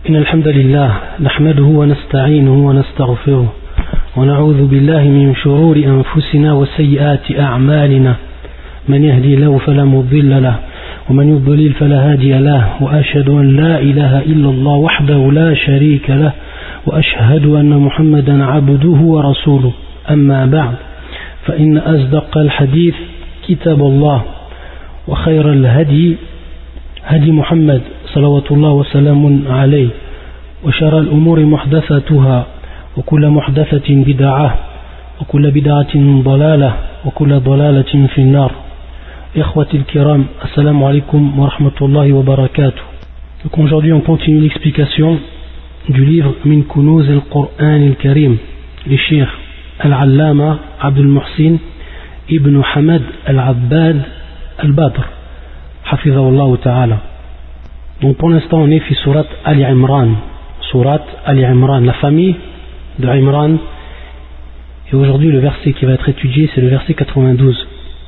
إن الحمد لله نحمده ونستعينه ونستغفره ونعوذ بالله من شرور أنفسنا وسيئات أعمالنا من يهدي الله فلا مضل له ومن يضلل فلا هادي له وأشهد أن لا إله إلا الله وحده لا شريك له وأشهد أن محمدا عبده ورسوله أما بعد فإن أصدق الحديث كتاب الله وخير الهدي هدي محمد صلوات الله وسلام عليه وشر الأمور محدثاتها وكل محدثة بدعة وكل بدعة ضلالة وكل ضلالة في النار. إخوتي الكرام, assalamu alaikum wa rahmatullahi wa barakatuh. Donc aujourd'hui on continue l'explication du livre Min Kunuz al-Qur'an al-Karim, le Cheikh Al-Allama Abdul Muhsin Ibn Hamad Al-Abbad Al-Badr Hafizahullah Ta'ala. Donc pour l'instant on est fi surat Al-Imran, la famille de Imran, et aujourd'hui le verset qui va être étudié c'est le verset 92.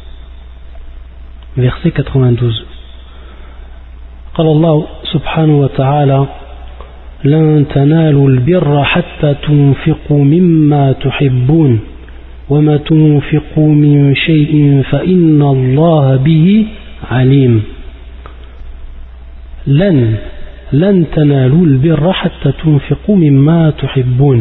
Verset 92. قال الله سبحانه وتعالى لن تنالوا البر حتى تنفقوا مما تحبون وما تنفقوا من شيء فإن الله به عليم. لن تنالوا البر حتى تنفقوا مما تحبون.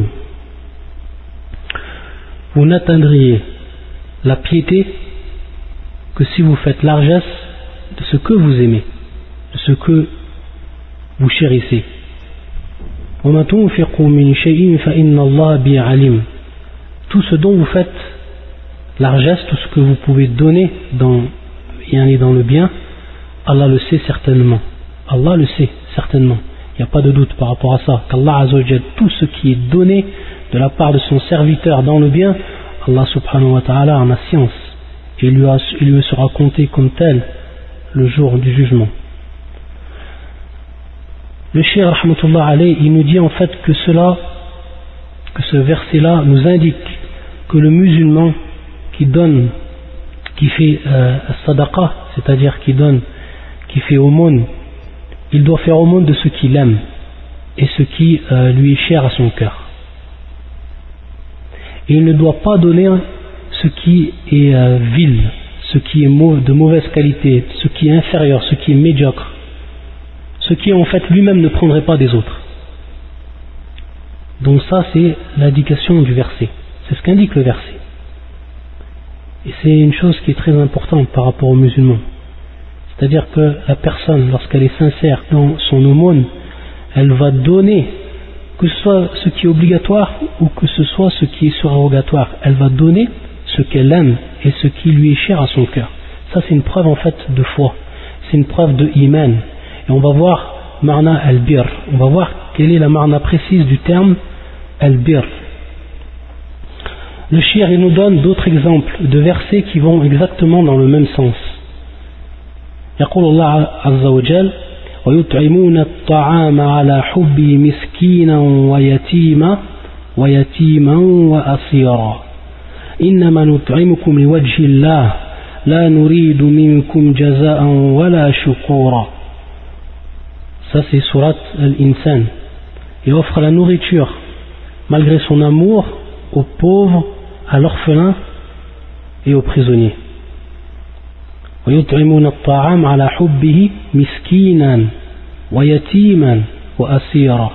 Vous n'atteindriez la piété que si vous faites largesse de ce que vous aimez, de ce que vous chérissez. وما تنفقوا من شيء فإن الله به عليم. Tout ce dont vous faites largesse, tout ce que vous pouvez donner dans le bien, Allah le sait certainement. Allah le sait certainement. Il n'y a pas de doute par rapport à ça. Qu'Allah Azza wa Jal, tout ce qui est donné de la part de son serviteur dans le bien, Allah subhanahu wa ta'ala en a science. Et il lui sera compté comme tel le jour du jugement. Le Cheikh rahmatullah alayhi, il nous dit en fait que ce verset-là nous indique que le musulman qui donne, qui fait sadaqa, c'est-à-dire qui fait aumône, il doit faire aumône de ce qu'il aime et ce qui lui est cher à son cœur. Et il ne doit pas donner ce qui est vil, ce qui est de mauvaise qualité, ce qui est inférieur, ce qui est médiocre, ce qui en fait lui-même ne prendrait pas des autres. Donc ça c'est l'indication du verset, c'est ce qu'indique le verset. Et c'est une chose qui est très importante par rapport aux musulmans. C'est-à-dire que la personne, lorsqu'elle est sincère dans son aumône, elle va donner, que ce soit ce qui est obligatoire ou que ce soit ce qui est surérogatoire, elle va donner ce qu'elle aime et ce qui lui est cher à son cœur. Ça c'est une preuve en fait de foi, c'est une preuve de iman. Et on va voir marna al-bir, on va voir quelle est la marna précise du terme al-bir. Le shir il nous donne d'autres exemples de versets qui vont exactement dans le même sens. يقول الله عز وجل ويطعمون الطعام على حبه مسكينا ويتيما وأسيرا إنما نطعمكم لوجه الله لا نريد منكم جزاء ولا شكورا. Ça c'est surat Al-Insan. Il offre la nourriture malgré son amour aux pauvres, à l'orphelin et aux prisonniers. ويطعمون الطعام على حبه مسكينا ويتيما وأسيرا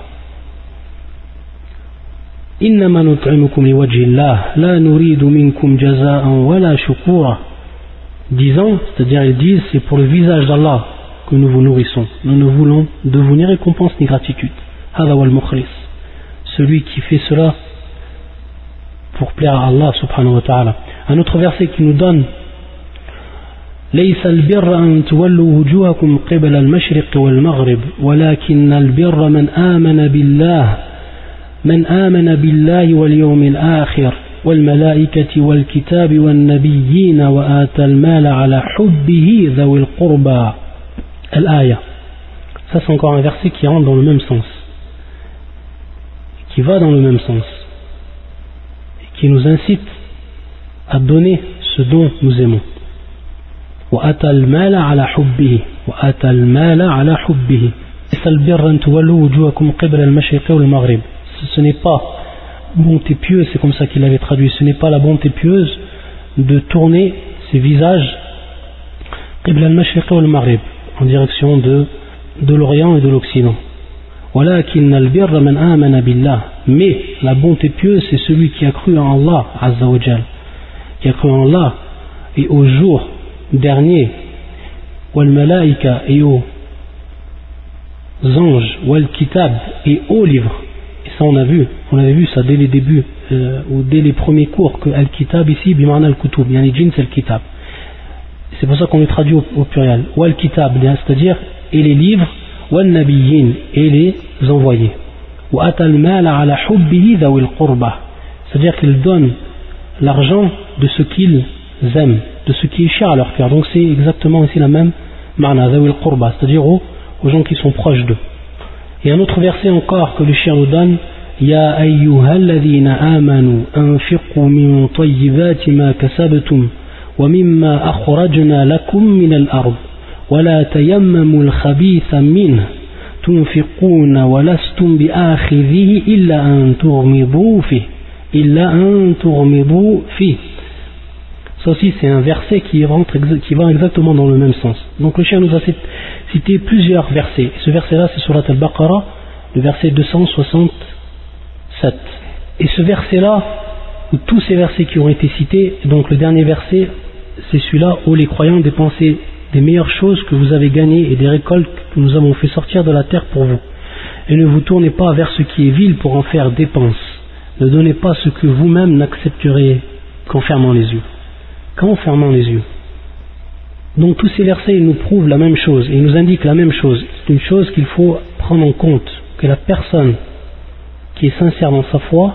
إنما نطعمكم لوجه الله لا نريد منكم جزاء ولا شكورا. Disant, c'est-à-dire ils disent, c'est pour le visage d'Allah que nous vous nourrissons. Nous ne voulons de vous ni récompense ni gratitude. هذا هو المخلص, celui qui fait cela pour plaire à Allah subhanahu wa ta'ala. Un autre verset qui nous donne ليس البر أن تولوا وجوهكم قبل المشرق والمغرب ولكن البر من آمن بالله واليوم الآخر والملائكة والكتاب والنبيين وآتى المال على حبه ذوي القربى. الآية. Ça c'est encore un verset qui rentre dans le même sens, qui va dans le même sens, et qui nous incite à donner ce dont nous aimons. وَأَتَى الْمَالَ عَلَى حُبِّهِ Ce n'est pas bonté pieuse, c'est comme ça qu'il avait traduit, ce n'est pas la bonté pieuse de tourner ses visages qibla al-mashriq wal maghrib, en direction de l'Orient et de l'Occident. ولكن البر من آمن بالله, mais la bonté pieuse c'est celui qui a cru en Allah Azza wa Jal, qui a cru en Allah et au jour dernier, wal malaika, et aux anges, wal kitab, et aux livres. Et ça on avait vu ça dès les débuts ou dès les premiers cours que al kitab ici bimana al kutub, yani jins al kitab, c'est pour ça qu'on le traduit au pluriel, wal kitab, c'est-à-dire et les livres, wal nabiyyin, et les envoyés, wa atal mal ala hubbihi dhawil qurba, c'est-à-dire qu'ils donnent l'argent de ce qu'ils aiment, de ce qui est cher à leur cœur. Donc c'est exactement ici la même ma'na, dhawil qurba, c'est-à-dire aux gens qui sont proches d'eux. Et un autre verset encore que le shir nous donne, ya ayyuhalladhina amanu anfiqu min tayyibati ma kasabtum wa mimma akhrajna lakum min al-ard wa la tayammamu al-khabitha minhu tunfiquna wa lastum bi'akhidhihi illa an tughmidu fihi. Ça aussi c'est un verset qui va exactement dans le même sens. Donc le shir nous a cité plusieurs versets. Ce verset là c'est surat al-Baqarah, le verset 267. Et ce verset là, ou tous ces versets qui ont été cités, donc le dernier verset c'est celui-là où les croyants dépensaient des meilleures choses que vous avez gagnées et des récoltes que nous avons fait sortir de la terre pour vous. Et ne vous tournez pas vers ce qui est vil pour en faire dépense. Ne donnez pas ce que vous-même n'accepteriez qu'en fermant les yeux. Donc tous ces versets ils nous prouvent la même chose, et ils nous indiquent la même chose. C'est une chose qu'il faut prendre en compte, que la personne qui est sincère dans sa foi,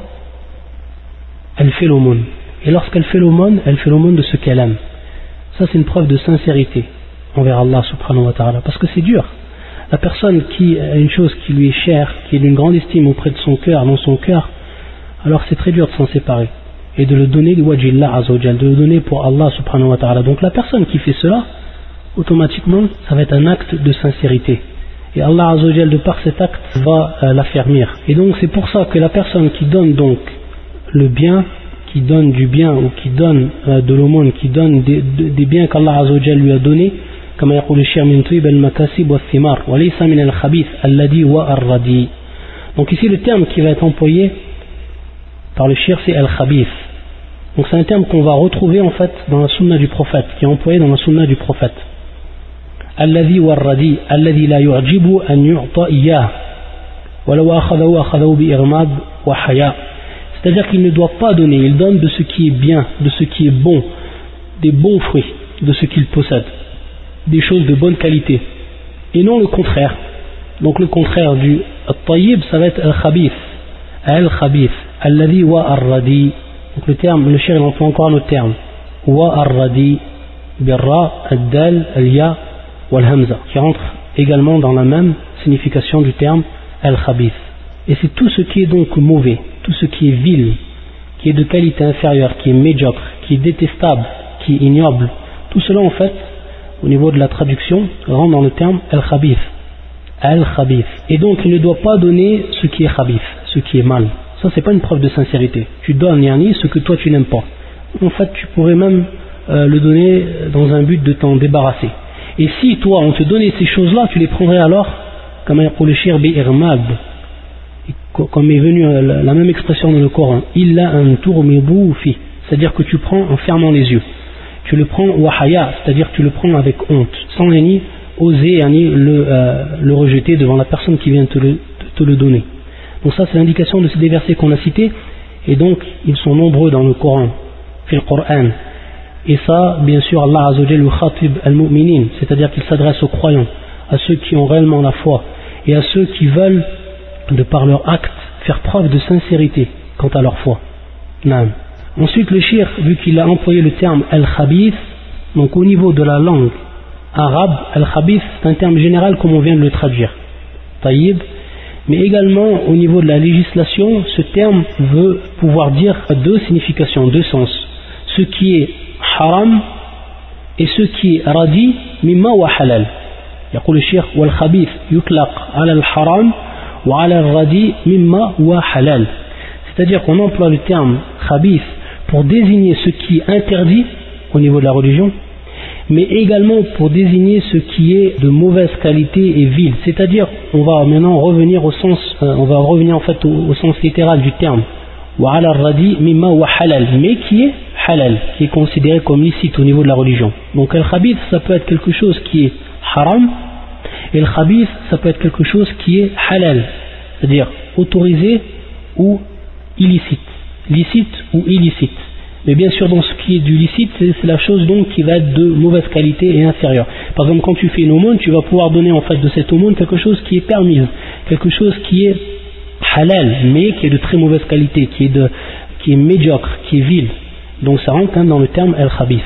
elle fait l'aumône. Et lorsqu'elle fait l'aumône, elle fait l'aumône de ce qu'elle aime. Ça c'est une preuve de sincérité envers Allah subhanahu wa ta'ala, parce que c'est dur. La personne qui a une chose qui lui est chère, qui est d'une grande estime auprès de son cœur, dans son cœur, alors c'est très dur de s'en séparer et de le donner liwajillah azawajal, de le donner pour Allah subhanahu wa ta'ala. Donc la personne qui fait cela, automatiquement ça va être un acte de sincérité, et Allah azawajal de par cet acte va l'affermir. Et donc c'est pour ça que la personne qui donne donc le bien, qui donne du bien, ou qui donne de l'aumône, qui donne des biens qu'Allah azawajal lui a donnés, comme يقول الشيخ من طيب المكاسب والثمار وليس من الخبيث الذي والردي. Donc ici le terme qui va être employé par le shir c'est al-khabith. Donc c'est un terme qu'on va retrouver en fait dans la sunna du prophète, qui est employé dans la sunna du prophète. Alladhi warradi, alladhi la yu'jibu an yu'ta iyyah, walau akhadahu bi irmad wa haya. C'est-à-dire qu'il ne doit pas donner, il donne de ce qui est bien, de ce qui est bon, des bons fruits, de ce qu'il possède, des choses de bonne qualité, et non le contraire. Donc le contraire du at-tayyib, ça va être al-khabith, alladhi wa ar-radi. Donc le terme, le shir il emploie encore un autre terme, wa ar-radi, birra, ad-dal, al-ya, wal-hamza, qui rentre également dans la même signification du terme al-khabith. Et c'est tout ce qui est donc mauvais, tout ce qui est vil, qui est de qualité inférieure, qui est médiocre, qui est détestable, qui est ignoble, tout cela en fait, au niveau de la traduction, rentre dans le terme al-khabith. Et donc il ne doit pas donner ce qui est khabith, ce qui est mal. Ça c'est pas une preuve de sincérité. Tu donnes yani ce que toi tu n'aimes pas. En fait tu pourrais même le donner dans un but de t'en débarrasser. Et si toi on te donnait ces choses-là, tu les prendrais alors comme yaqul shir bi irmad, comme est venu la même expression dans le Coran, illa an turmidu fi, c'est-à-dire que tu prends en fermant les yeux. Tu le prends wahaya, c'est-à-dire que tu le prends avec honte, sans ni oser le rejeter devant la personne qui vient te le donner. Donc ça c'est l'indication de ces versets qu'on a cités, et donc ils sont nombreux dans le Coran, fil Coran. Et ça, bien sûr, Allah Azza wa Jalla khatib al-mu'minin, c'est-à-dire qu'il s'adresse aux croyants, à ceux qui ont réellement la foi, et à ceux qui veulent, de par leur acte, faire preuve de sincérité quant à leur foi. Naam. Ensuite le shir, vu qu'il a employé le terme al-khabith, donc au niveau de la langue arabe, al-khabith c'est un terme général comme on vient de le traduire, tayyib, mais également au niveau de la législation, ce terme veut pouvoir dire deux significations, deux sens, ce qui est haram et ce qui est radi, mimma wa halal. يقول الشيخ والخبيث يطلق على الحرام وعلى الردي مما هو halal. C'est-à-dire qu'on emploie le terme khabith pour désigner ce qui est interdit au niveau de la religion, mais également pour désigner ce qui est de mauvaise qualité et vil. C'est-à-dire, on va maintenant revenir au sens, en fait au sens littéral du terme. Wa ala radi mimma wa halal, mais qui est halal, qui est considéré comme licite au niveau de la religion. Donc al-khabith, ça peut être quelque chose qui est haram, et le khabith, ça peut être quelque chose qui est halal, c'est-à-dire autorisé ou illicite, licite ou illicite. Mais bien sûr, dans ce qui est du licite, c'est la chose donc qui va être de mauvaise qualité et inférieure. Par exemple, quand tu fais une aumône, tu vas pouvoir donner en fait de cette aumône quelque chose qui est permise, quelque chose qui est halal, mais qui est de très mauvaise qualité, qui est médiocre, qui est vil. Donc ça rentre dans le terme al-khabith.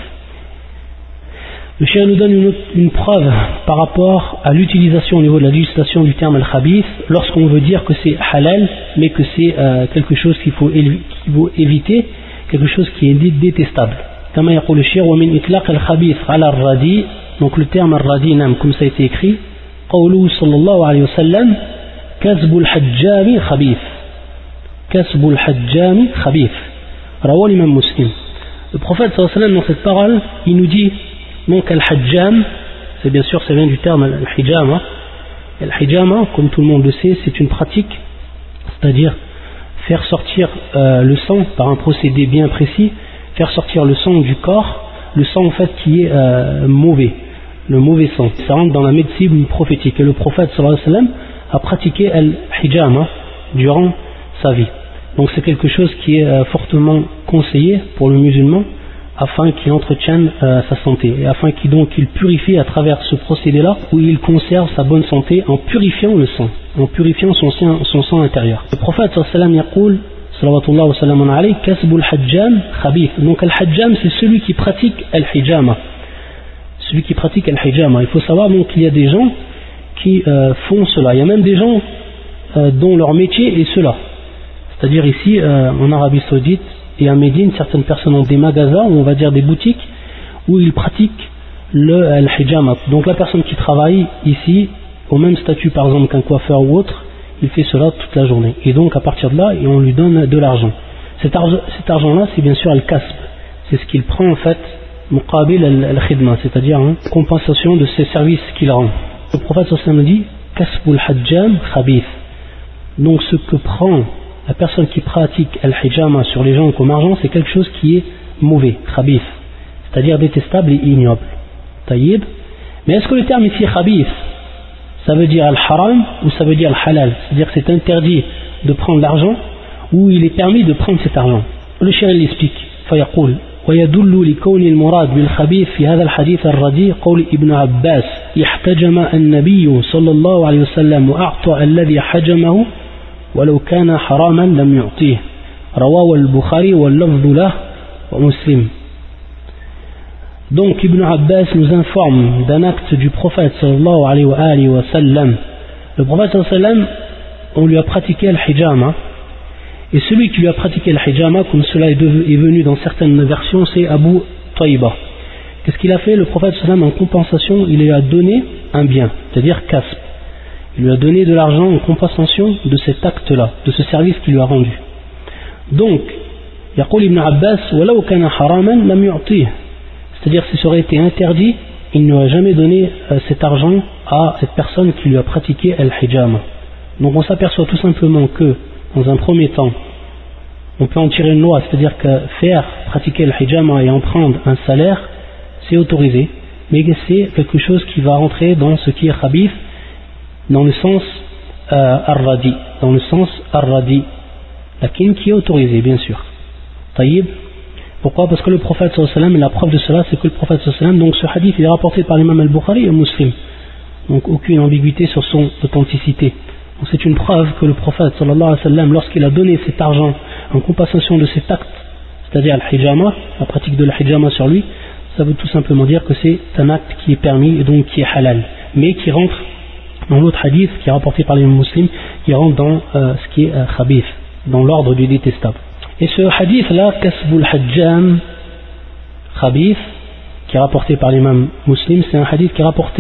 Le cheikh nous donne une preuve par rapport à l'utilisation au niveau de la législation du terme al-khabith lorsqu'on veut dire que c'est halal, mais que c'est quelque chose qu'il faut éviter, quelque chose qui est détestable. Comme يقول الشيخ ومن إطلاق الخبيث على الردي, donc le terme al-radi, comme ça a été écrit, قوله صلى الله عليه وسلم كسب الحجام خبيث, كسب الحجام خبيث, رواه l'imam Muslim. Le prophète sallallahu alayhi wa sallam, dans cette parole, il nous dit donc al-hajjam, c'est bien sûr, ça vient du terme al-hijama. Al-hijama, comme tout le monde le sait, c'est une pratique, c'est-à-dire faire sortir le sang par un procédé bien précis, faire sortir le sang du corps, le sang en fait qui est mauvais, le mauvais sang. Ça rentre dans la médecine prophétique. Et le prophète sallallahu alayhi wa sallam a pratiqué al-hijama durant sa vie. Donc c'est quelque chose qui est fortement conseillé pour le musulman, afin qu'il entretienne sa santé, et afin qu'il purifie à travers ce procédé-là, où il conserve sa bonne santé en purifiant le sang, en purifiant son sang intérieur. Le prophète sallallahu alayhi wa sallam, kasbul hajjam khabith. Donc al-hajjam, c'est celui qui pratique al-hijama. Celui qui pratique al-hijama. Il faut savoir donc qu'il y a des gens qui font cela. Il y a même des gens dont leur métier est cela. C'est-à-dire ici, en Arabie Saoudite, et à Médine, certaines personnes ont des magasins, ou on va dire des boutiques, où ils pratiquent le hijama. Donc la personne qui travaille ici, au même statut par exemple qu'un coiffeur ou autre, il fait cela toute la journée. Et donc à partir de là, on lui donne de l'argent. Cet argent-là, c'est bien sûr al-kasb. C'est ce qu'il prend en fait, muqabil al-khidma, c'est-à-dire compensation de ses services qu'il rend. Le prophète sallallahu alayhi wa sallam dit, kasbul hajjam khabith. Donc ce que prend la personne qui pratique al-hijama sur les gens comme argent, c'est quelque chose qui est mauvais, khabith, c'est-à-dire détestable et ignoble. Taïb. Mais est-ce que le terme ici khabith, ça veut dire al-haram ou ça veut dire al-halal? C'est-à-dire que c'est interdit de prendre l'argent ou il est permis de prendre cet argent? Le cheikh l'explique. فيقول ويدل لكون المراد بالخبيث في هذا الحديث الرديء قول ابن عباس احتجم النبي صلى الله عليه وسلم وأعطى الذي حجمه ولو كان حراما لم يعطيه رواه البخاري واللفظ له ومسلم. Donc Ibn Abbas nous informe d'un acte du prophète sallallahu alayhi wa sallam. Le prophète sallallahu alayhi wa sallam, on lui a pratiqué al-hijama, et celui qui lui a pratiqué al-hijama, comme cela est venu dans certaines versions, c'est Abu Tayba. Qu'est-ce qu'il a fait? Le prophète sallallahu alayhi wa sallam, en compensation, il lui a donné un bien, c'est-à-dire kasb. Il lui a donné de l'argent en compensation de cet acte-là, de ce service qu'il lui a rendu. Donc, يقول Ibn Abbas ولو كان حراما لم يعطيه, c'est-à-dire si ça aurait été interdit, il n'aurait jamais donné cet argent à cette personne qui lui a pratiqué al-hijama. Donc on s'aperçoit tout simplement que, dans un premier temps, on peut en tirer une loi, c'est-à-dire que faire pratiquer al-hijama et en prendre un salaire, c'est autorisé, mais c'est quelque chose qui va rentrer dans ce qui est khabith, dans le sens ar-radi, lakin qui est autorisé bien sûr. Taïb. Pourquoi? Parce que le prophète sallallahu alayhi wa sallam, la preuve de cela, c'est que le prophète sallallahu alayhi wa sallam, donc ce hadith il est rapporté par l'imam al-Bukhari et Muslim, donc aucune ambiguïté sur son authenticité. Donc c'est une preuve que le prophète sallallahu alayhi wa sallam, lorsqu'il a donné cet argent en compensation de cet acte, c'est-à-dire al-hijama, la pratique de l'hijama sur lui, ça veut tout simplement dire que c'est un acte qui est permis et donc qui est halal, mais qui rentre dans l'autre hadith qui est rapporté par les musulmans, qui rentre dans ce qui est khabith, dans l'ordre du détestable. Et ce hadith-là, kasbul hajjam khabith, qui est rapporté par l'imam muslim, c'est un hadith qui est rapporté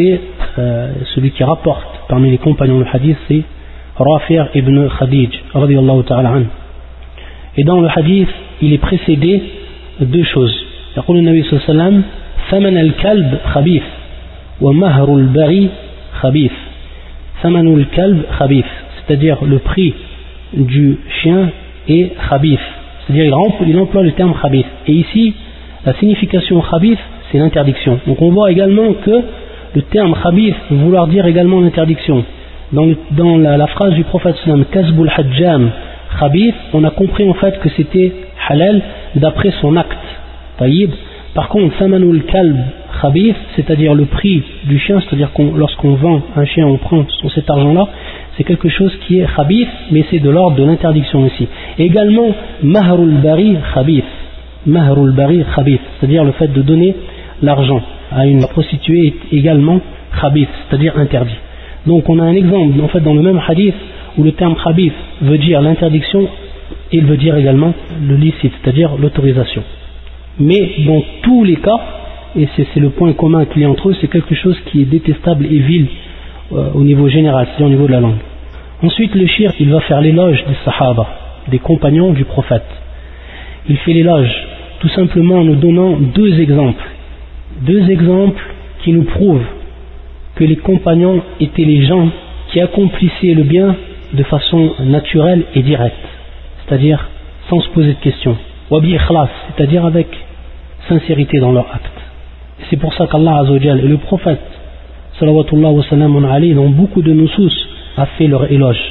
celui qui rapporte parmi les compagnons du hadith, c'est Rafi' ibn Khadij radiyallahu ta'ala anhu. Et dans le hadith, il est précédé de deux choses. يقول النبي صلى الله عليه وسلم ثمن الكلب خبيث ومهر البغي خبيث. ثمن الكلب خبيث, c'est-à-dire le prix du chien est khabith, c'est-à-dire il emploie le terme khabith. Et ici, la signification khabith, c'est l'interdiction. Donc on voit également que le terme khabith veut vouloir dire également l'interdiction. Dans la phrase du prophète sallam, kasbul hajjam khabith, on a compris en fait que c'était halal d'après son acte. Taïb. Par contre, samanul kalb khabith, c'est-à-dire le prix du chien, c'est-à-dire lorsqu'on vend un chien, on prend cet argent-là, c'est quelque chose qui est khabith, mais c'est de l'ordre de l'interdiction ici. Et également, mahrul bari khabith. Mahrul bari khabith, c'est-à-dire le fait de donner l'argent à une prostituée est également khabith, c'est-à-dire interdit. Donc on a un exemple en fait dans le même hadith où le terme khabith veut dire l'interdiction et il veut dire également le licite, c'est-à-dire l'autorisation. Mais dans tous les cas, et c'est le point commun qu'il y a entre eux, c'est quelque chose qui est détestable et vil au niveau général, c'est-à-dire au niveau de la langue. Ensuite le shir, il va faire l'éloge des sahaba, des compagnons du prophète. Il fait l'éloge tout simplement en nous donnant deux exemples qui nous prouvent que les compagnons étaient les gens qui accomplissaient le bien de façon naturelle et directe, c'est-à-dire sans se poser de questions, wabi ikhlas, c'est-à-dire avec sincérité dans leur acte. C'est pour ça qu'Allah Azza wa Jal et le prophète salawatullah wa salam alayhi dans beaucoup de nusus a fait leur éloge.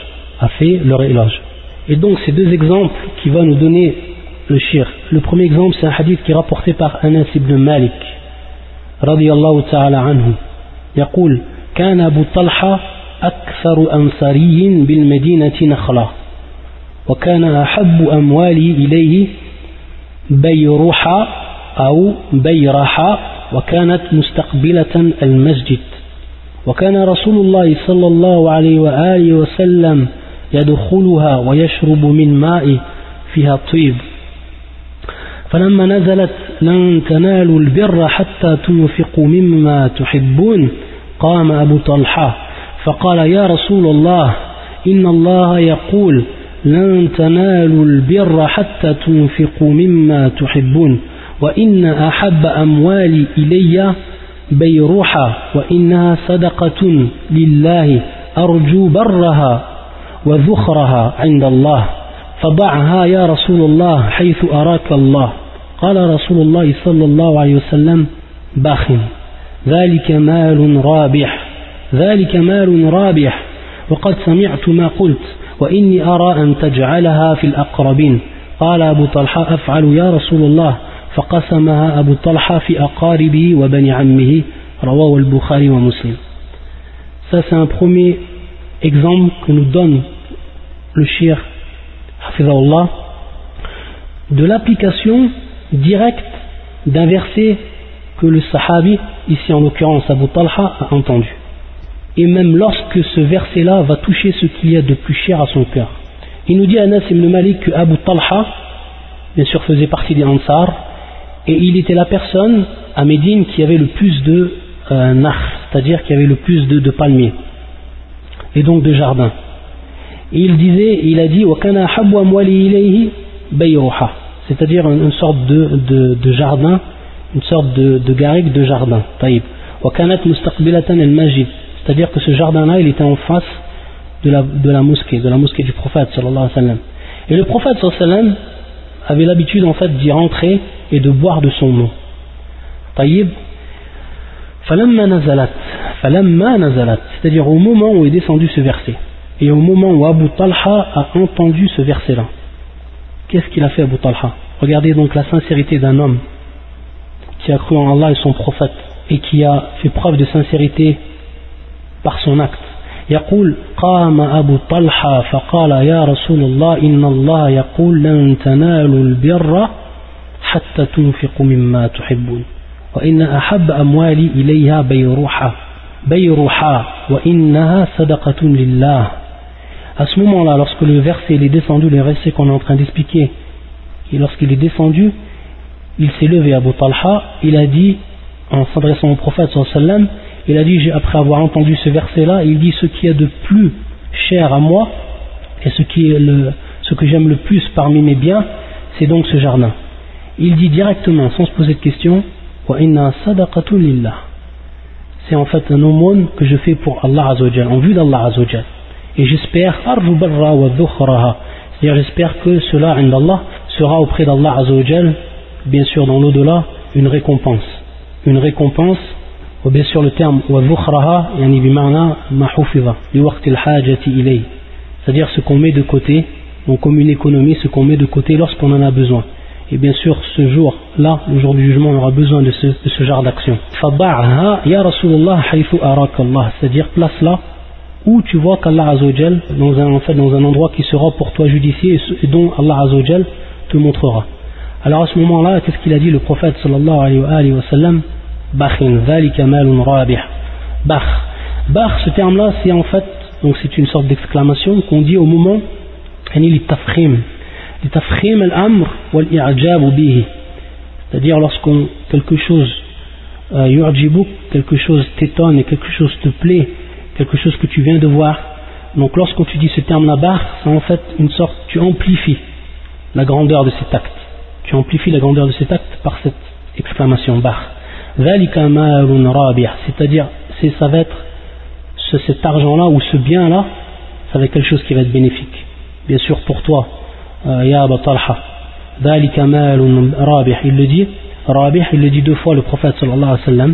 Et donc ces deux exemples qui vont nous donner le shir. Le premier exemple, c'est un hadith qui est rapporté par Anas ibn Malik radiyallahu ta'ala anhu. يقول كان أبو طلحة أكثر أنصاري بالمدينة نخلة وكان أحب أموالي إليه بيرحة أو بيرحة وكانت مستقبلة المسجد وكان رسول الله صلى الله عليه وآله وسلم يدخلها ويشرب من ماء فيها طيب فلما نزلت لن تنالوا البر حتى تنفقوا مما تحبون قام أبو طلحة فقال يا رسول الله إن الله يقول لن تنالوا البر حتى تنفقوا مما تحبون وإن أحب أموالي إلي بيروحة وإنها صدقة لله أرجو برها وذخرها عند الله فضعها يا رسول الله حيث أراك الله قال رسول الله صلى الله عليه وسلم باخ ذلك مال رابح وقد سمعت ما قلت وإني أرى أن تجعلها في الأقربين قال أبو طلحة أفعل يا رسول الله فقسمها أبو طلحة في أقاربه وبني عمه رواه البخاري ومسلم. Ça c'est un premier exemple que nous donne le shir hafizahullah de l'application directe d'un verset que le sahabi, ici en l'occurrence Abu Talha, a entendu. Et même lorsque ce verset-là va toucher ce qu'il y a de plus cher à son cœur. Il nous dit Anas ibn Malik que Abu Talha, bien sûr, faisait partie des Ansar, et il était la personne à Médine qui avait le plus de nakh, c'est-à-dire qui avait le plus de palmiers, et donc de jardins. Et il a dit وَكَانَ أَحَبُّ أَمْوَالِي إِلَيْهِ بَيْرُحَةً, c'est-à-dire une sorte de jardin, une sorte de garrigue de jardin. طيب. وَكَانَتْ مُسْتَقْبِلَةً الْمَسْجِدِ, c'est-à-dire que ce jardin-là, il était en face de la mosquée du prophète sallallahu alayhi wa sallam. Et le prophète sallallahu alayhi wa sallam avait l'habitude en fait d'y rentrer et de boire de son eau. طيب. فَلَمَّا نَزَلَتْ, c'est-à-dire au moment où est descendu ce verset. Et au moment où Abu Talha a entendu ce verset-là, qu'est-ce qu'il a fait Abu Talha? Regardez donc la sincérité d'un homme qui a cru en Allah et son prophète et qui a fait preuve de sincérité par son acte. يقول قام أبو طلحة فقال يا رسول الله إن الله يقول لن تنالوا البر حتى تنفقوا مما تحبون وإن أحب أموالي إليها بيرحة وإنها صدقة لله. À ce moment-là, lorsque le verset est descendu, le verset qu'on est en train d'expliquer, et lorsqu'il est descendu, il s'est levé à Abu Talha, il a dit, en s'adressant au prophète sallallahu alayhi wa sallam, il a dit, après avoir entendu ce verset-là, il dit, ce qui est de plus cher à moi, et ce que j'aime le plus parmi mes biens, c'est donc ce jardin. Il dit directement, sans se poser de questions, wa inna sadaqatu lillah. C'est en fait un aumône que je fais pour Allah Azzawajal, en vue d'Allah Azzawajal. Et j'espère, arju barra wa dhukhraha, c'est-à-dire j'espère que cela, indallah, sera auprès d'Allah Azzawajal, bien sûr dans l'au-delà, une récompense. Une récompense, ou bien sûr le terme wa dhukhraha, yani bima'na ma hufiza, li waqti al-hajati ilay. C'est-à-dire ce qu'on met de côté, donc comme une économie, ce qu'on met de côté lorsqu'on en a besoin. Et bien sûr, ce jour-là, le jour du jugement, on aura besoin de ce genre d'action. Faba'ha ya Rasulullah haythu araka Allah, c'est-à-dire place-là où tu vois qu'Allah Azzawajal, dans un endroit qui sera pour toi judicié et dont Allah Azzawajal te montrera. Alors à ce moment-là, qu'est-ce qu'il a dit le prophète sallallahu alayhi wa sallam? Bakhin, dhalika malun rabih. Bakh. Bakh, ce terme-là, c'est en fait, donc c'est une sorte d'exclamation qu'on dit au moment, li tafkhim. Li tafkhim al-amr wal i'jab bihi. C'est-à-dire lorsqu'on, quelque chose, yu'jibuk, quelque chose t'étonne et quelque chose te plaît, quelque chose que tu viens de voir. Donc lorsqu'on tu dis ce terme-là, bakh, c'est en fait une sorte, tu amplifies la grandeur de cet acte. Tu amplifies la grandeur de cet acte par cette exclamation bakh. Dhalika malun rabih, c'est-à-dire ça va être cet argent-là ou ce bien-là, ça va être quelque chose qui va être bénéfique. Bien sûr pour toi, ya Aba Talha. Dhalika malun rabih, il le dit, rabih, il le dit 2 fois le prophète sallallahu alayhi wa sallam.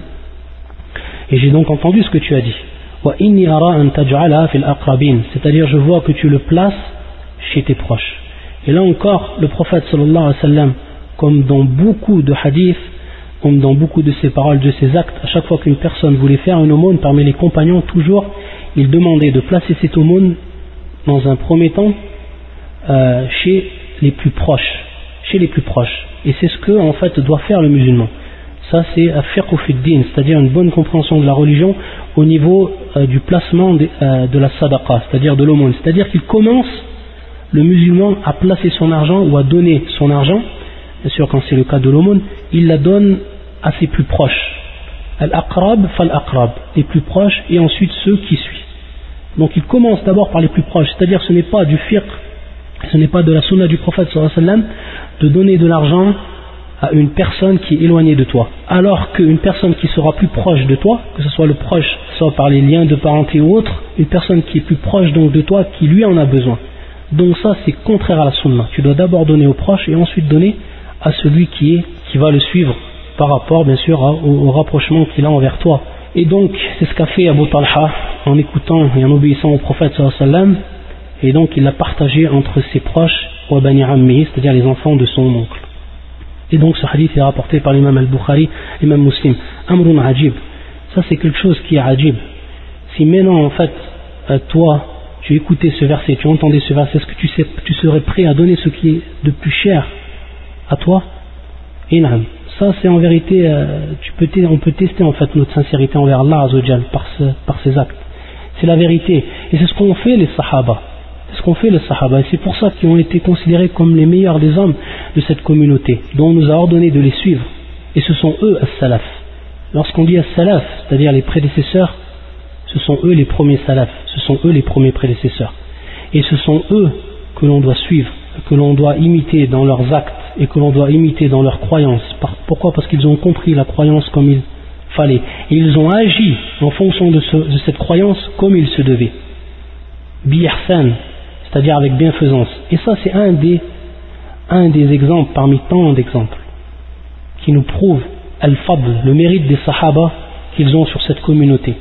Et j'ai donc entendu ce que tu as dit. Wa inni ara an taj'ala fil aqrabin, c'est-à-dire je vois que tu le places chez tes proches. Et là encore, le prophète sallallahu alayhi wa sallam, comme dans beaucoup de hadiths, comme dans beaucoup de ses paroles, de ses actes, à chaque fois qu'une personne voulait faire une aumône parmi les compagnons, toujours, il demandait de placer cette aumône dans un premier temps chez les plus proches. Chez les plus proches. Et c'est ce que en fait doit faire le musulman. Ça c'est fiqh fi din, c'est-à-dire une bonne compréhension de la religion au niveau du placement de la sadaqa, c'est-à-dire de l'aumône. C'est-à-dire qu'il commence, le musulman, à placer son argent ou à donner son argent. Bien sûr, quand c'est le cas de l'aumône, il la donne à ses plus proches. Al-aqrab fal-aqrab, les plus proches et ensuite ceux qui suivent. Donc il commence d'abord par les plus proches, c'est-à-dire ce n'est pas du fiqh, ce n'est pas de la sunna du prophète sallallahu alayhi wa sallam de donner de l'argent à une personne qui est éloignée de toi. Alors qu'une personne qui sera plus proche de toi, que ce soit le proche, soit par les liens de parenté ou autre, une personne qui est plus proche donc de toi, qui lui en a besoin. Donc ça c'est contraire à la sunna. Tu dois d'abord donner aux proches et ensuite donner à celui qui va le suivre par rapport bien sûr au rapprochement qu'il a envers toi. Et donc c'est ce qu'a fait Abu Talha en écoutant et en obéissant au prophète sallallahu alayhi wa sallam, et donc il l'a partagé entre ses proches wa bani ammi, c'est-à-dire les enfants de son oncle. Et donc ce hadith est rapporté par l'imam al-Bukhari, l'imam Muslim. Amrun ajib, ça c'est quelque chose qui est ajib. Si maintenant en fait toi tu écoutais ce verset, tu entendais ce verset, est-ce que tu serais prêt à donner ce qui est de plus cher à toi? Inam. Ça c'est en vérité, on peut tester en fait notre sincérité envers Allah Azzawajal par ces actes. C'est la vérité. Et c'est ce qu'ont fait les Sahaba. C'est ce qu'ont fait les Sahaba. Et c'est pour ça qu'ils ont été considérés comme les meilleurs des hommes de cette communauté, dont on nous a ordonné de les suivre. Et ce sont eux as-salaf. Lorsqu'on dit as-salaf, c'est-à-dire les prédécesseurs, ce sont eux les premiers salaf. Ce sont eux les premiers prédécesseurs. Et ce sont eux que l'on doit suivre, que l'on doit imiter dans leurs actes et que l'on doit imiter dans leurs croyances. Pourquoi? Parce qu'ils ont compris la croyance comme il fallait. Et ils ont agi en fonction de cette croyance comme il se devait. Bi-ihsan, c'est-à-dire avec bienfaisance. Et ça c'est un des exemples parmi tant d'exemples qui nous prouvent al-fadl, le mérite des sahaba qu'ils ont sur cette communauté.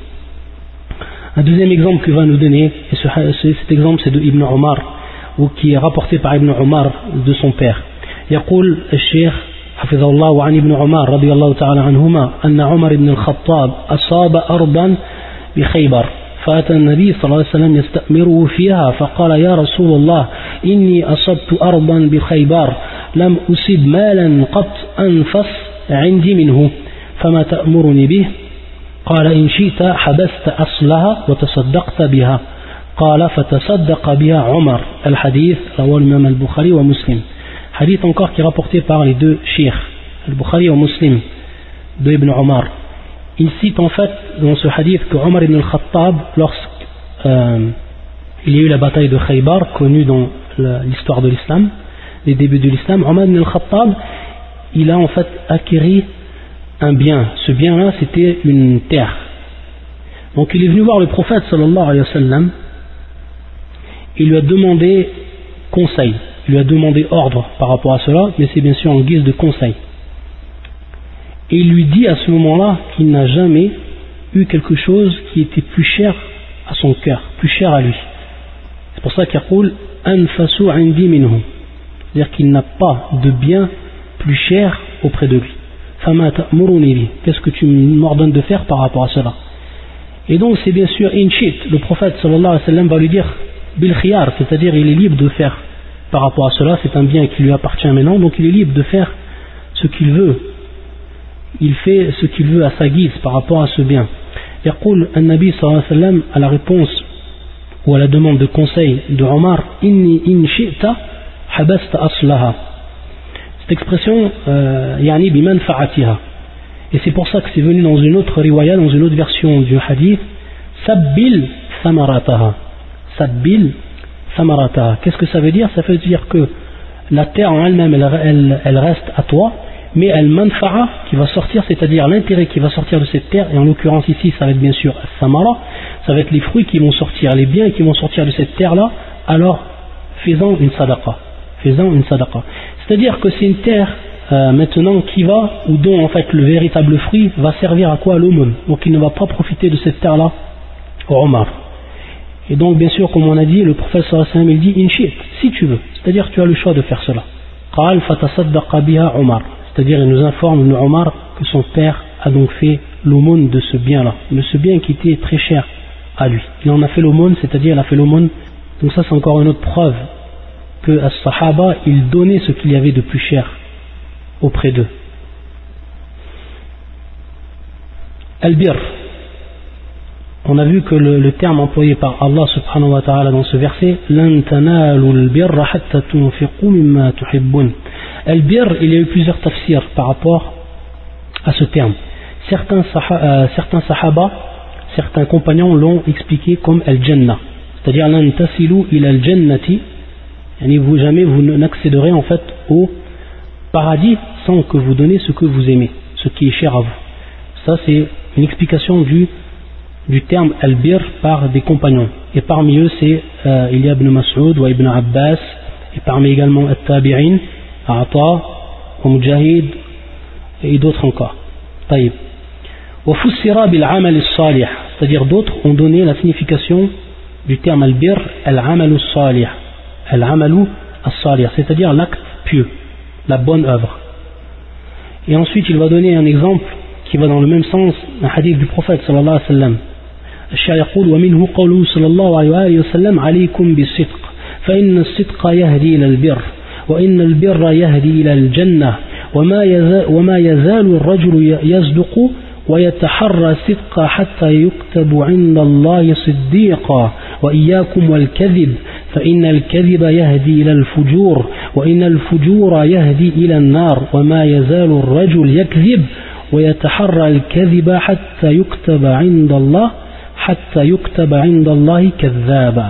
Un deuxième exemple qu'il va nous donner, et cet exemple c'est de Ibn Omar, ou qui est rapporté par Ibn Omar de son père. يقول الشيخ حفظه الله عن ابن عمر رضي الله تعالى عنهما أن عمر بن الخطاب أصاب أرضا بخيبر فأتى النبي صلى الله عليه وسلم يستأمره فيها فقال يا رسول الله إني أصبت أرضا بخيبر لم أصب مالا قط أنفس عندي منه فما تأمرني به؟ قال إن شئت حبست أصلها وتصدقت بها. قال فتصدق بها عمر. الحديث رواه الإمام البخاري ومسلم. Hadith encore qui est rapporté par les deux sheikhs, al-Bukhari et Muslim, de Ibn Omar. il cite en fait dans ce hadith que Omar ibn al-Khattab, il y a eu la bataille de Khaybar, connue dans l'histoire de l'islam, les débuts de l'islam, Omar ibn al-Khattab, il a en fait acquis un bien. Ce bien-là, c'était une terre. Donc il est venu voir le prophète sallallahu alayhi wa sallam, il lui a demandé conseil, il lui a demandé ordre par rapport à cela, mais c'est bien sûr en guise de conseil. Et il lui dit à ce moment-là qu'il n'a jamais eu quelque chose qui était plus cher à son cœur, plus cher à lui. C'est pour ça qu'il dit anfasu indi minhu, c'est-à-dire qu'il n'a pas de bien plus cher auprès de lui. Fama ta'muruni bi, qu'est-ce que tu m'ordonnes de faire par rapport à cela? Et donc c'est bien sûr inchit, le prophète sallallahu alayhi wa sallam va lui dire bil khiyar, c'est-à-dire il est libre de faire par rapport à cela, c'est un bien qui lui appartient maintenant, donc il est libre de faire ce qu'il veut. Il fait ce qu'il veut à sa guise par rapport à ce bien. Yaqul an-Nabi sallallahu alayhi wa sallam à la réponse ou à la demande de conseil de Omar, inni in shi'ta habasta aslaha. Cette expression yani bi manfa'atiha. Et c'est pour ça que c'est venu dans une autre riwaya, dans une autre version du hadith, sabbil samarataha. Sabbil samarataha. Qu'est-ce que ça veut dire? Ça veut dire que la terre en elle-même, elle reste à toi, mais al-manfa'a qui va sortir, c'est-à-dire l'intérêt qui va sortir de cette terre, et en l'occurrence ici, ça va être bien sûr samara, ça va être les fruits qui vont sortir, les biens qui vont sortir de cette terre-là, alors faisant une sadaqa. C'est-à-dire que c'est une terre maintenant qui va, ou dont en fait le véritable fruit va servir à quoi? À l'aumône. Donc il ne va pas profiter de cette terre-là au Omar. Et donc bien sûr, comme on a dit, le prophète sallallahu alayhi wa sallam, il dit inchit, si tu veux, c'est-à-dire tu as le choix de faire cela. Qal fatasaddaqa biha Omar, c'est-à-dire il nous informe de Omar que son père a donc fait l'aumône de ce bien-là, de ce bien qui était très cher à lui. Il en a fait l'aumône, c'est-à-dire il a fait l'aumône. Donc ça c'est encore une autre preuve que as-sahaba, ils donnaient ce qu'il y avait de plus cher auprès d'eux. Al-bir, on a vu que le terme employé par Allah subhanahu wa ta'ala dans ce verset, lan tanalu al-birra hatta tunfiqu mimma tuhibbun. Al-bir, il y a eu plusieurs tafsirs par rapport à ce terme. Certains sahaba, certains compagnons l'ont expliqué comme al-jannah, c'est-à-dire lan tasilu ila al-jannati, jamais vous n'accéderez en fait au paradis sans que vous donnez ce que vous aimez, ce qui est cher à vous. Ça c'est une explication du terme al-bir par des compagnons. Et parmi eux c'est il y a Ibn Mas'ud ou Ibn Abbas, et parmi également At-Tabi'in, Ata, wa Mujahid et d'autres encore. Taïb. Wa fussira bil amal as-salih, c'est-à-dire d'autres ont donné la signification du terme al-bir, al-amal as-salih. Al-amalu as-salih, c'est-à-dire l'acte pieux, la bonne œuvre. Et ensuite il va donner un exemple qui va dans le même sens, un hadith du prophète sallallahu alayhi wa sallam. الشاعر يقول ومنه قوله صلى الله عليه وسلم عليكم بالصدق فإن الصدق يهدي إلى البر وإن البر يهدي إلى الجنة وما يزال الرجل يصدق ويتحرى الصدق حتى يكتب عند الله صديقا وإياكم والكذب فإن الكذب يهدي إلى الفجور وإن الفجور يهدي إلى النار وما يزال الرجل يكذب ويتحرى الكذب حتى يكتب عند الله كذابا.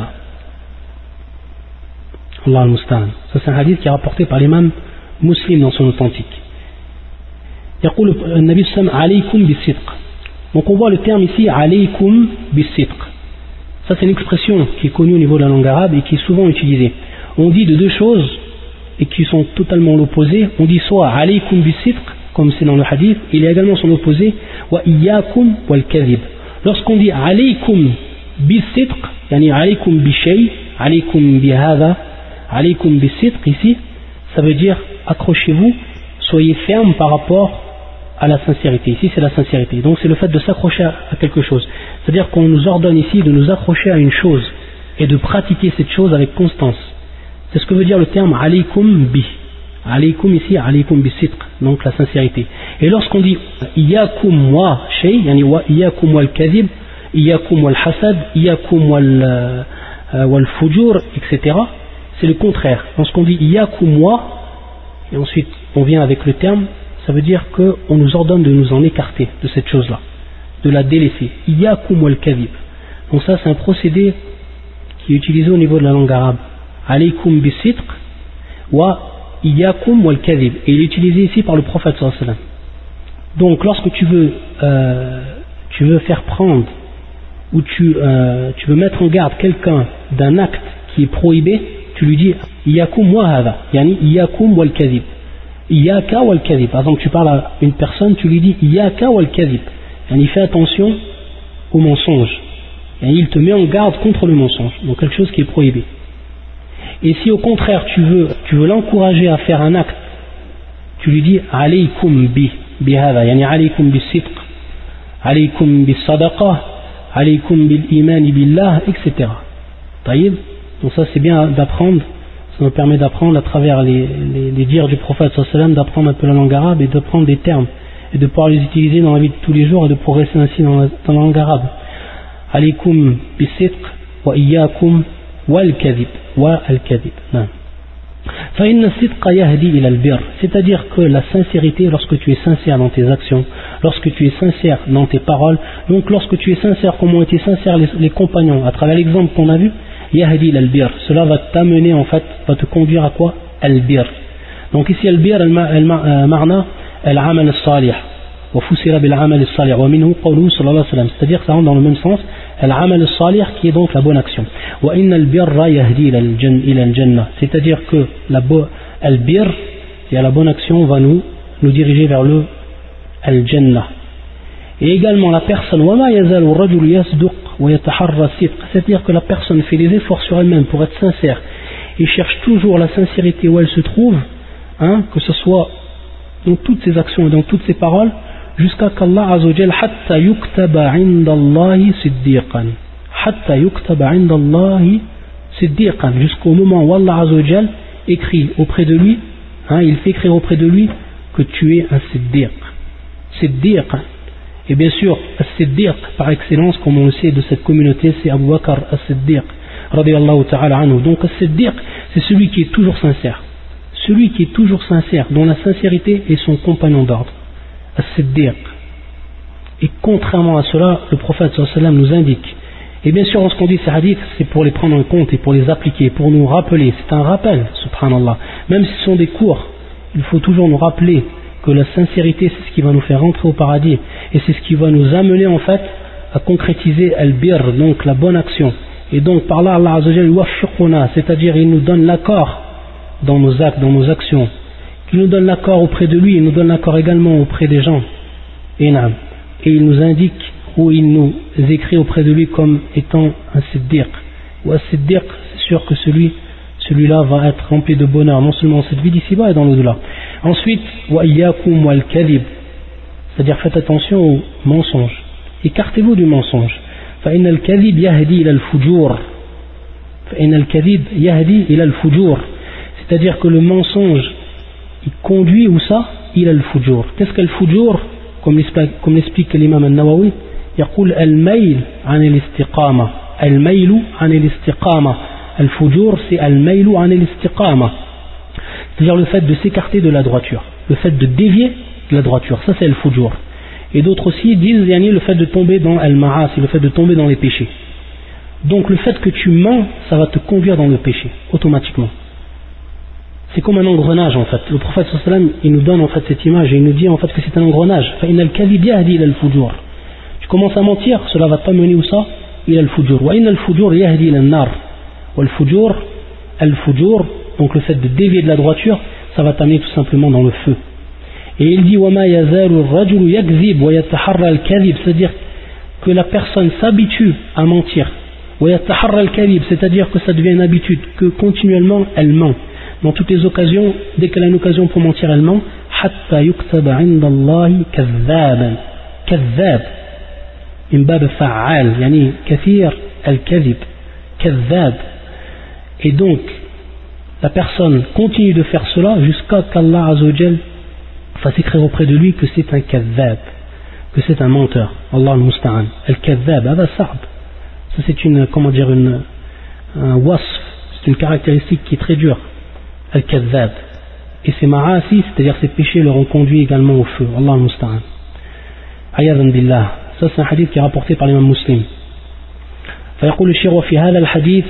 Allah al-Musta'an. Ça c'est un hadith qui est rapporté par l'imam Muslim dans son authentique. يقول النبي صلى الله عليه وسلم عليكم بالصدق. Donc on voit le terme ici عليكم بالصدق. Ça c'est une expression qui est connue au niveau de la langue arabe et qui est souvent utilisée. On dit de deux choses et qui sont totalement l'opposé. On dit soit عليكم بالصدق comme c'est dans le hadith, il y a également son opposé وإياكم والكذب. Lorsqu'on dit عليكم بالصدق يعني عليكم بشيء عليكم بهذا عليكم بالصدق ici, ça veut dire accrochez-vous, soyez ferme par rapport à la sincérité. Ici c'est la sincérité, donc c'est le fait de s'accrocher à quelque chose, c'est-à-dire qu'on nous ordonne ici de nous accrocher à une chose et de pratiquer cette chose avec constance. C'est ce que veut dire le terme alaykum bi. Alaykum ici, alaykum bi sidq, donc la sincérité. Et lorsqu'on dit iyakum wa shay, yani wa iyakum wal kadhib, iyakum wal hasad, iyakum wal fujur, etc., c'est le contraire. Lorsqu'on dit iyakum wa, et ensuite on vient avec le terme, ça veut dire qu'on nous ordonne de nous en écarter de cette chose-là. de la délaisser. Iyyakum wal kadhib. Donc ça c'est un procédé qui est utilisé au niveau de la langue arabe. Alaykum bis-sidq wa iyyakum wal kadhib. Et il est utilisé ici par le prophète sallallahu alayhi wa sallam. Donc lorsque tu veux faire prendre ou tu veux mettre en garde quelqu'un d'un acte qui est prohibé, tu lui dis iyyakum wa hadha, yani iyyakum wal kadhib. Iyyaka wal kadhib. Par exemple, tu parles à une personne, tu lui dis iyyaka wal kadhib. Yani fais attention au mensonge. Yani il te met en garde contre le mensonge, donc quelque chose qui est prohibé. Et si au contraire tu veux l'encourager à faire un acte, tu lui dis alaykum bi hadha, yani alaykum bis sidq, alaykum bis sadaqa, alaykum bil iman billah, etc. Taïb. Donc ça c'est bien d'apprendre, ça nous permet d'apprendre à travers les dires du prophète sallallahu alayhi wa sallam, d'apprendre un peu la langue arabe et d'apprendre des termes et de pouvoir les utiliser dans la vie de tous les jours et de progresser ainsi dans la langue arabe. Alaykum bis sidq wa iyyakum wal kadhib wa al kadhib. C'est-à-dire que la sincérité, lorsque tu es sincère dans tes actions, lorsque tu es sincère dans tes paroles, donc lorsque tu es sincère comme ont été sincères les compagnons, à travers l'exemple qu'on a vu, yahdi ila al-bir, cela va t'amener en fait, va te conduire à quoi? Al-bir. Donc ici al-bir, al-ma'na, al-amal al-salih, wa fusira bil-amal al-salih, wa minhu qawluhu sallallahu alayhi wa sallam, c'est-à-dire que ça rentre dans le même sens, al-amal al-salih qui est donc la bonne action. Wa inna al-birra yahdi ila al-jannah, c'est-à-dire que al-bir, et la bonne action va nous diriger vers le al-jannah. Et également la personne, wa ma yazalu ar-rajulu yasduq wa yataharra as-sidq, c'est-à-dire que la personne fait des efforts sur elle-même pour être sincère et cherche toujours la sincérité où elle se trouve, que ce soit dans toutes ses actions et dans toutes ses paroles, jusqu'à qu'Allah Azzawajal hatta yuktaba indallahi siddiqan, hatta yuktaba indallahi siddiqan, jusqu'au moment où Allah Azzawajal écrit auprès de lui, il fait écrire auprès de lui que tu es un siddiq. Siddiq. Et bien sûr, as-siddiq par excellence, comme on le sait de cette communauté, c'est Abu Bakr as-siddiq radiyallahu ta'ala anhu. Donc as-siddiq, c'est celui qui est toujours sincère, celui qui est toujours sincère, dont la sincérité est son compagnon d'ordre, as-siddiq. Et contrairement à cela, le prophète sallallahu alayhi wa sallam nous indique, et bien sûr lorsqu'on dit ces hadiths, c'est pour les prendre en compte et pour les appliquer, pour nous rappeler, c'est un rappel, subhanallah, même si ce sont des cours, il faut toujours nous rappeler que la sincérité c'est ce qui va nous faire rentrer au paradis, et c'est ce qui va nous amener en fait à concrétiser al-bir, donc la bonne action. Et donc par là Allah Azza wa Jalla yuwaffiquna, c'est-à-dire il nous donne l'accord dans nos actes, dans nos actions, qu'il nous donne l'accord auprès de lui, il nous donne l'accord également auprès des gens, et il nous indique ou il nous écrit auprès de lui comme étant un siddiq. Ou un siddiq, c'est sûr que celui-là va être rempli de bonheur, non seulement dans cette vie d'ici-bas et dans l'au-delà. Ensuite, wa iyyakum wal kadhib, c'est-à-dire faites attention au mensonge, écartez-vous du mensonge. Fa inna al-kadhib yahdi ila al-fujur, fa inna al-kadhib yahdi ila al-fujur, c'est-à-dire que le mensonge il conduit où ça? Ila al-fujur. Qu'est-ce qu'est le fujur? Comme l'explique l'imam al-Nawawi, يقول الميل عن الاستقامة، الميل عن الاستقامة، الفجور c'est الميل عن الاستقامة, c'est-à-dire le fait de s'écarter de la droiture, le fait de dévier de la droiture, ça c'est le fujur. Et d'autres aussi disent yani, le fait de tomber dans al-ma'asi, le fait de tomber dans les péchés. Donc le fait que tu mens, ça va te conduire dans le péché automatiquement. C'est comme un engrenage en fait. Le prophète sallallahu alayhi wa sallam il nous donne en fait cette image et il nous dit en fait que c'est un engrenage. فإن الكذب يهدي إلى الفجور. Tu commences à mentir, cela va t'amener où ça? إلى الفجور. وإن الفجور يهدي إلى النار. والفجور الفجور, donc le fait de dévier de la droiture, ça va t'amener tout simplement dans le feu. Et il dit وما يزال الرجل يكذب ويتحرى الكذب, c'est-à-dire que la personne s'habitue à mentir. ويتحرى الكذب, c'est-à-dire que ça devient une habitude, que continuellement elle ment. Dans toutes les occasions, dès qu'elle a une occasion pour mentir, elle ment. حتى يكتب عند الله كذابا, كذاب من باب فعال, يعني كثير الكذب, كذاب. Et donc, la personne continue de faire cela jusqu'à qu'Allah Azza wa Jal fasse écrire auprès de lui que c'est un كذاب, que c'est un menteur. Allah al-Musta'an. Al-Kadhab, هذا صعب. Ça c'est une, comment dire, un wasf, c'est une caractéristique qui est très dure. Al-Kadhab. Et ces ma'asi, c'est-à-dire ces péchés, leur ont conduit également au feu. Allah al-Musta'an. Ayadan billah. Ça c'est un hadith qui est rapporté par l'imam Muslim. فيقول الشيخ وفي هذا الحديث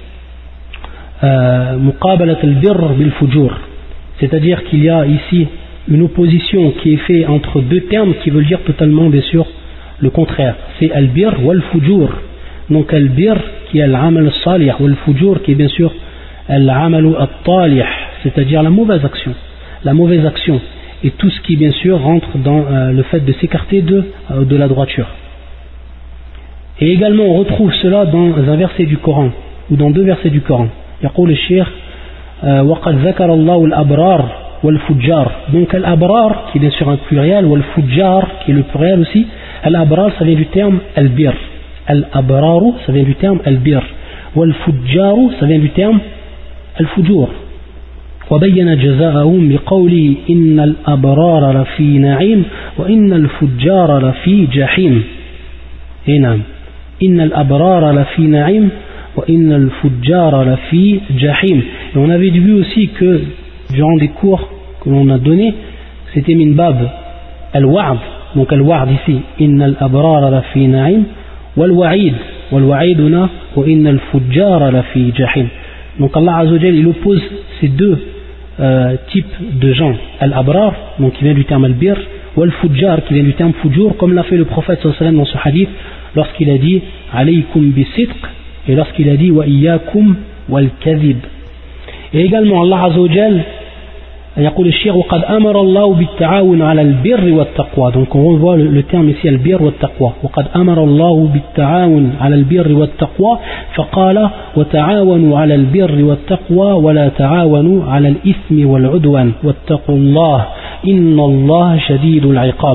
مقابلة البر بالفجور, c'est-à-dire qu'il y a ici une opposition qui est faite entre deux termes qui veulent dire totalement bien sûr le contraire. C'est al-bir wal-fujur. Donc al-bir qui est al-amal al-salih, wal-fujur qui est bien sûr al-amal al-talih, c'est-à-dire la mauvaise action. La mauvaise action et tout ce qui bien sûr rentre dans le fait de s'écarter de la droiture. Et également on retrouve cela dans un verset du Coran ou dans deux versets du Coran. يقول الشيخ وقد ذكر الله الأبرار والفجار. Donc al-abrar qui est bien sûr un pluriel, wal-fujjar qui est le pluriel aussi. Al-abrar ça vient du terme al-bir. Al-abraru ça vient du terme al-bir. Wal-fujjaru ça vient du terme al-fujur. وبين جزاءهم بقوله إن الأبرار لفي نعيم وإن الفجار لفي جحيم. Et نعم إن الأبرار لفي نعيم وإن الفجار لفي جحيم. Et on avait vu aussi que durant des cours que l'on a donnés, c'était min bab al-wa'd. Donc al-wa'd ici إن الأبرار لفي نعيم والوعيد والوعيد هنا وإن الفجار لفي جحيم. Donc Allah Azza wa Jalla il oppose ces deux types de gens, al-abrar donc qui vient du terme al-bir, ou al-fujjar qui vient du terme fujur, comme l'a fait le prophète sallallahu alayhi wa sallam dans ce hadith lorsqu'il a dit alaykum bis-sidq et lorsqu'il a dit wa iyyakum wal-kadhib. Et également Allah Azza wa Jalla يقول الشيخ وقد أمر الله بالتعاون على البر والتقوى. Donc on revoit le terme ici البر والتقوى. وقد أمر الله بالتعاون على البر والتقوى فقال وتعاونوا على البر والتقوى ولا تعاونوا على الإثم والعدوان واتقوا الله إن الله شديد العقاب.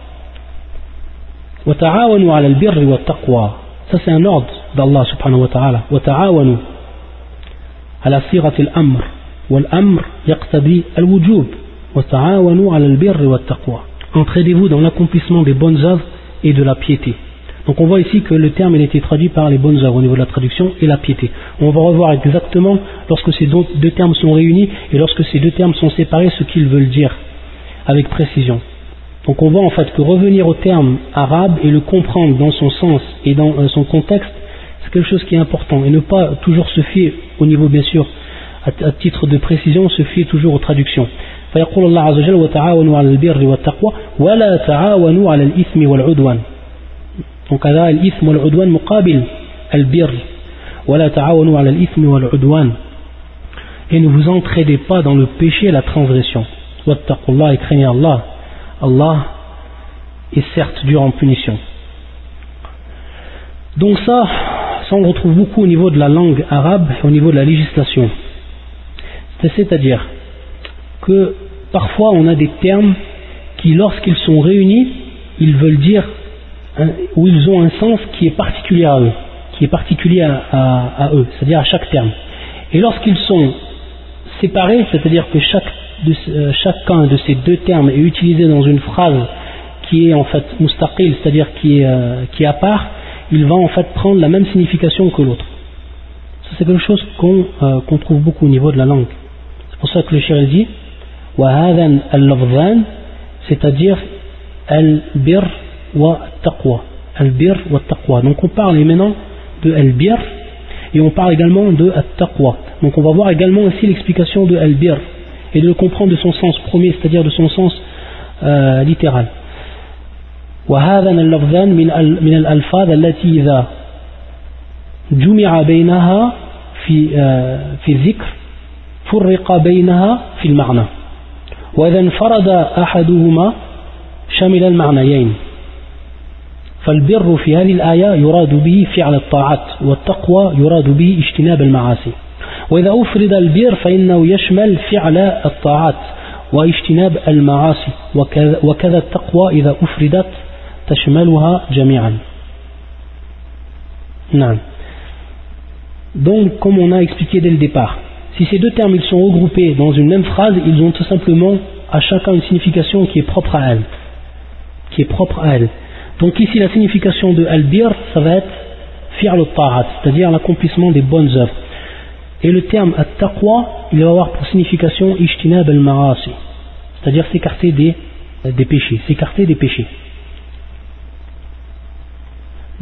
وتعاونوا على البر والتقوى. Ça c'est un ordre d'Allah subhanahu wa ta'ala. وتعاونوا على صيغة الأمر والأمر يقتضي الوجوب وتعاونوا على البر والتقوى. Entraidez-vous dans l'accomplissement des bonnes œuvres et de la piété. Donc on voit ici que le terme il a été traduit par les bonnes œuvres au niveau de la traduction et la piété. On va revoir exactement lorsque ces deux termes sont réunis et lorsque ces deux termes sont séparés ce qu'ils veulent dire avec précision. Donc on voit en fait que revenir au terme arabe et le comprendre dans son sens et dans son contexte, c'est quelque chose qui est important et ne pas toujours se fier au niveau bien sûr à titre de précision, se fier toujours aux traductions. فيقول الله عز وجل وتعاونوا على البر والتقوى ولا تعاونوا على الإثم والعدوان. Donc هذا الإثم والعدوان مقابل البر ولا تعاونوا على الإثم والعدوان. Et ne vous entraidez pas dans le péché et la transgression. واتقوا الله et craignez Allah. Allah est certes dur en punition. Donc ça on retrouve beaucoup au niveau de la langue arabe et au niveau de la législation. C'est-à-dire que parfois on a des termes qui lorsqu'ils sont réunis ils veulent dire ou ils ont un sens qui est particulier à eux, qui est particulier à eux, c'est-à-dire à chaque terme. Et lorsqu'ils sont séparés, c'est-à-dire que chacun de ces deux termes est utilisé dans une phrase qui est en fait mustaqil, c'est-à-dire qui est à part, il va en fait prendre la même signification que l'autre. Ça c'est quelque chose qu'on trouve beaucoup au niveau de la langue. C'est pour ça que le cheikh dit وَهَذَا اللَّفْظَانِ, c'est-à-dire al-bir wa taqwa. Al-bir wa taqwa. Donc on parle maintenant de al-bir et on parle également de at-taqwa. Donc on va voir également aussi l'explication de al-bir et de le comprendre de son sens premier, c'est-à-dire de son sens littéral. وهذا اللفظان من الألفاظ التي إذا جمع بينها في الذكر فرق بينها في المعنى وإذا انفرد أحدهما شمل المعنيين فالبر في هذه الآية يراد به فعل الطاعات والتقوى يراد به اجتناب المعاصي وإذا أفرد البر فإنه يشمل فعل الطاعات واجتناب المعاصي وكذا التقوى إذا أفردت تشملها جميعا. نعم. Donc comme on a expliqué dès le départ, si ces deux termes ils sont regroupés dans une même phrase, ils ont tout simplement à chacun une signification qui est propre à elle. Donc ici la signification de al-bir ça va être fi'l al-ta'at, c'est-à-dire l'accomplissement des bonnes œuvres. Et le terme at-taqwa, il va avoir pour signification ijtinab al-ma'asi, c'est-à-dire s'écarter des péchés, s'écarter des péchés.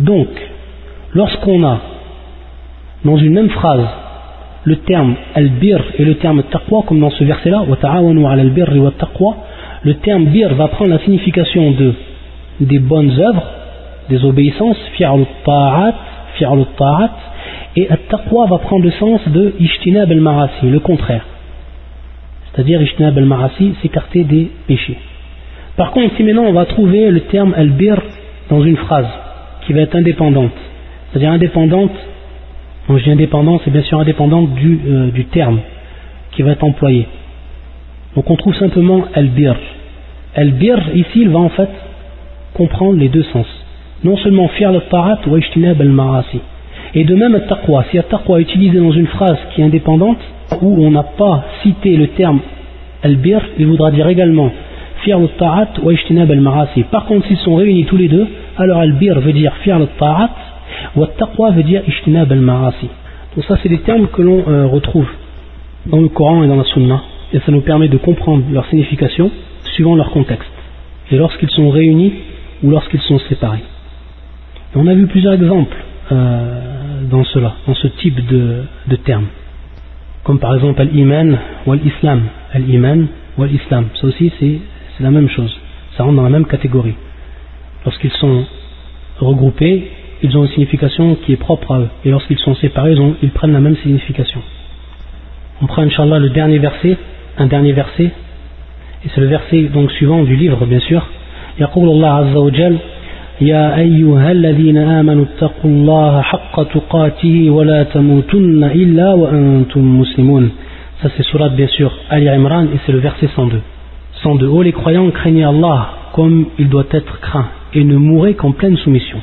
Donc, lorsqu'on a dans une même phrase le terme al-bir et le terme taqwa, comme dans ce verset-là, wa ta'awanu 'ala al-birri wa taqwa, le terme bir va prendre la signification des bonnes œuvres, des obéissances, fi'lu ta'at, et at-taqwa va prendre le sens de ijtinab al-ma'asi, le contraire. C'est-à-dire ijtinab al-ma'asi, s'écarter des péchés. Par contre, si maintenant on va trouver le terme al-bir dans une phrase qui va être indépendante, c'est-à-dire indépendante, quand je dis indépendante, c'est bien sûr indépendante du terme qui va être employé. Donc on trouve simplement al-bir. Al-bir, ici, il va en fait comprendre les deux sens. Non seulement fi'l al-ta'at wa ijtinab al-ma'asi. Et de même al-taqwa. Si al-taqwa est utilisé dans une phrase qui est indépendante, où on n'a pas cité le terme al-bir, il voudra dire également fi'l al-ta'at wa ijtinab al-ma'asi. Par contre, s'ils sont réunis tous les deux, alors al-bir veut dire fi'l al-ta'at, wa al-taqwa veut dire ijtinab al-ma'asi. Donc ça, c'est des termes que l'on retrouve dans le Coran et dans la Sunna. Et ça nous permet de comprendre leur signification suivant leur contexte, et lorsqu'ils sont réunis ou lorsqu'ils sont séparés. Et on a vu plusieurs exemples dans ce type de termes, comme par exemple al-iman ou al-islam. Al-iman ou al-islam, ça aussi c'est la même chose, ça rentre dans la même catégorie. Lorsqu'ils sont regroupés, ils ont une signification qui est propre à eux, et lorsqu'ils sont séparés, ils prennent la même signification. On prend Inch'Allah un dernier verset, et c'est le verset donc suivant du livre bien sûr. يقول الله عز وجل يا أيها الذين آمنوا اتقوا الله حق تقاته ولا تموتن إلا وأنتم مسلمون. Ça c'est surat bien sûr Ali Imran, et c'est le verset 102. 102. Oh les croyants, craignez Allah comme il doit être craint, et ne mourrez qu'en pleine soumission.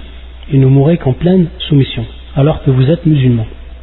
Alors que vous êtes musulmans.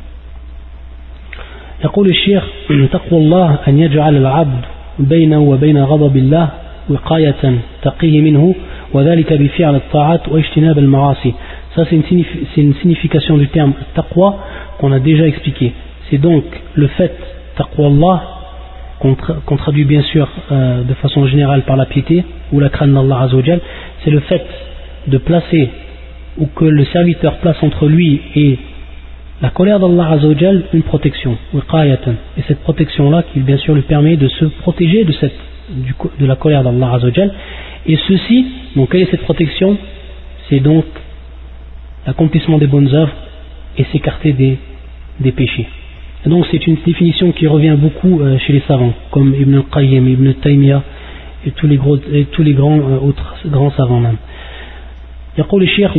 يقول الشيخ تقوى الله أن يجعل العبد بينه وبين غضب الله وقاية تقيه منه وذلك بفعل الطاعات واجتناب المعاصي. Ça c'est une signification du terme taqwa qu'on a déjà expliqué. C'est donc le fait taqwa Allah qu'on traduit bien sûr de façon générale par la piété ou la crainte d'Allah Azza wa Jal. C'est le fait de placer, ou que le serviteur place entre lui et la colère d'Allah Azza wa Jal une protection, et cette protection-là qui bien sûr lui permet de se protéger de la colère d'Allah Azza wa Jal. Et ceci, donc quelle est cette protection? C'est donc l'accomplissement des bonnes œuvres et s'écarter des péchés. Et donc c'est une définition qui revient beaucoup chez les savants, comme Ibn al-Qayyim, Ibn Taymiyyah et tous les autres grands savants même. يقول الشيخ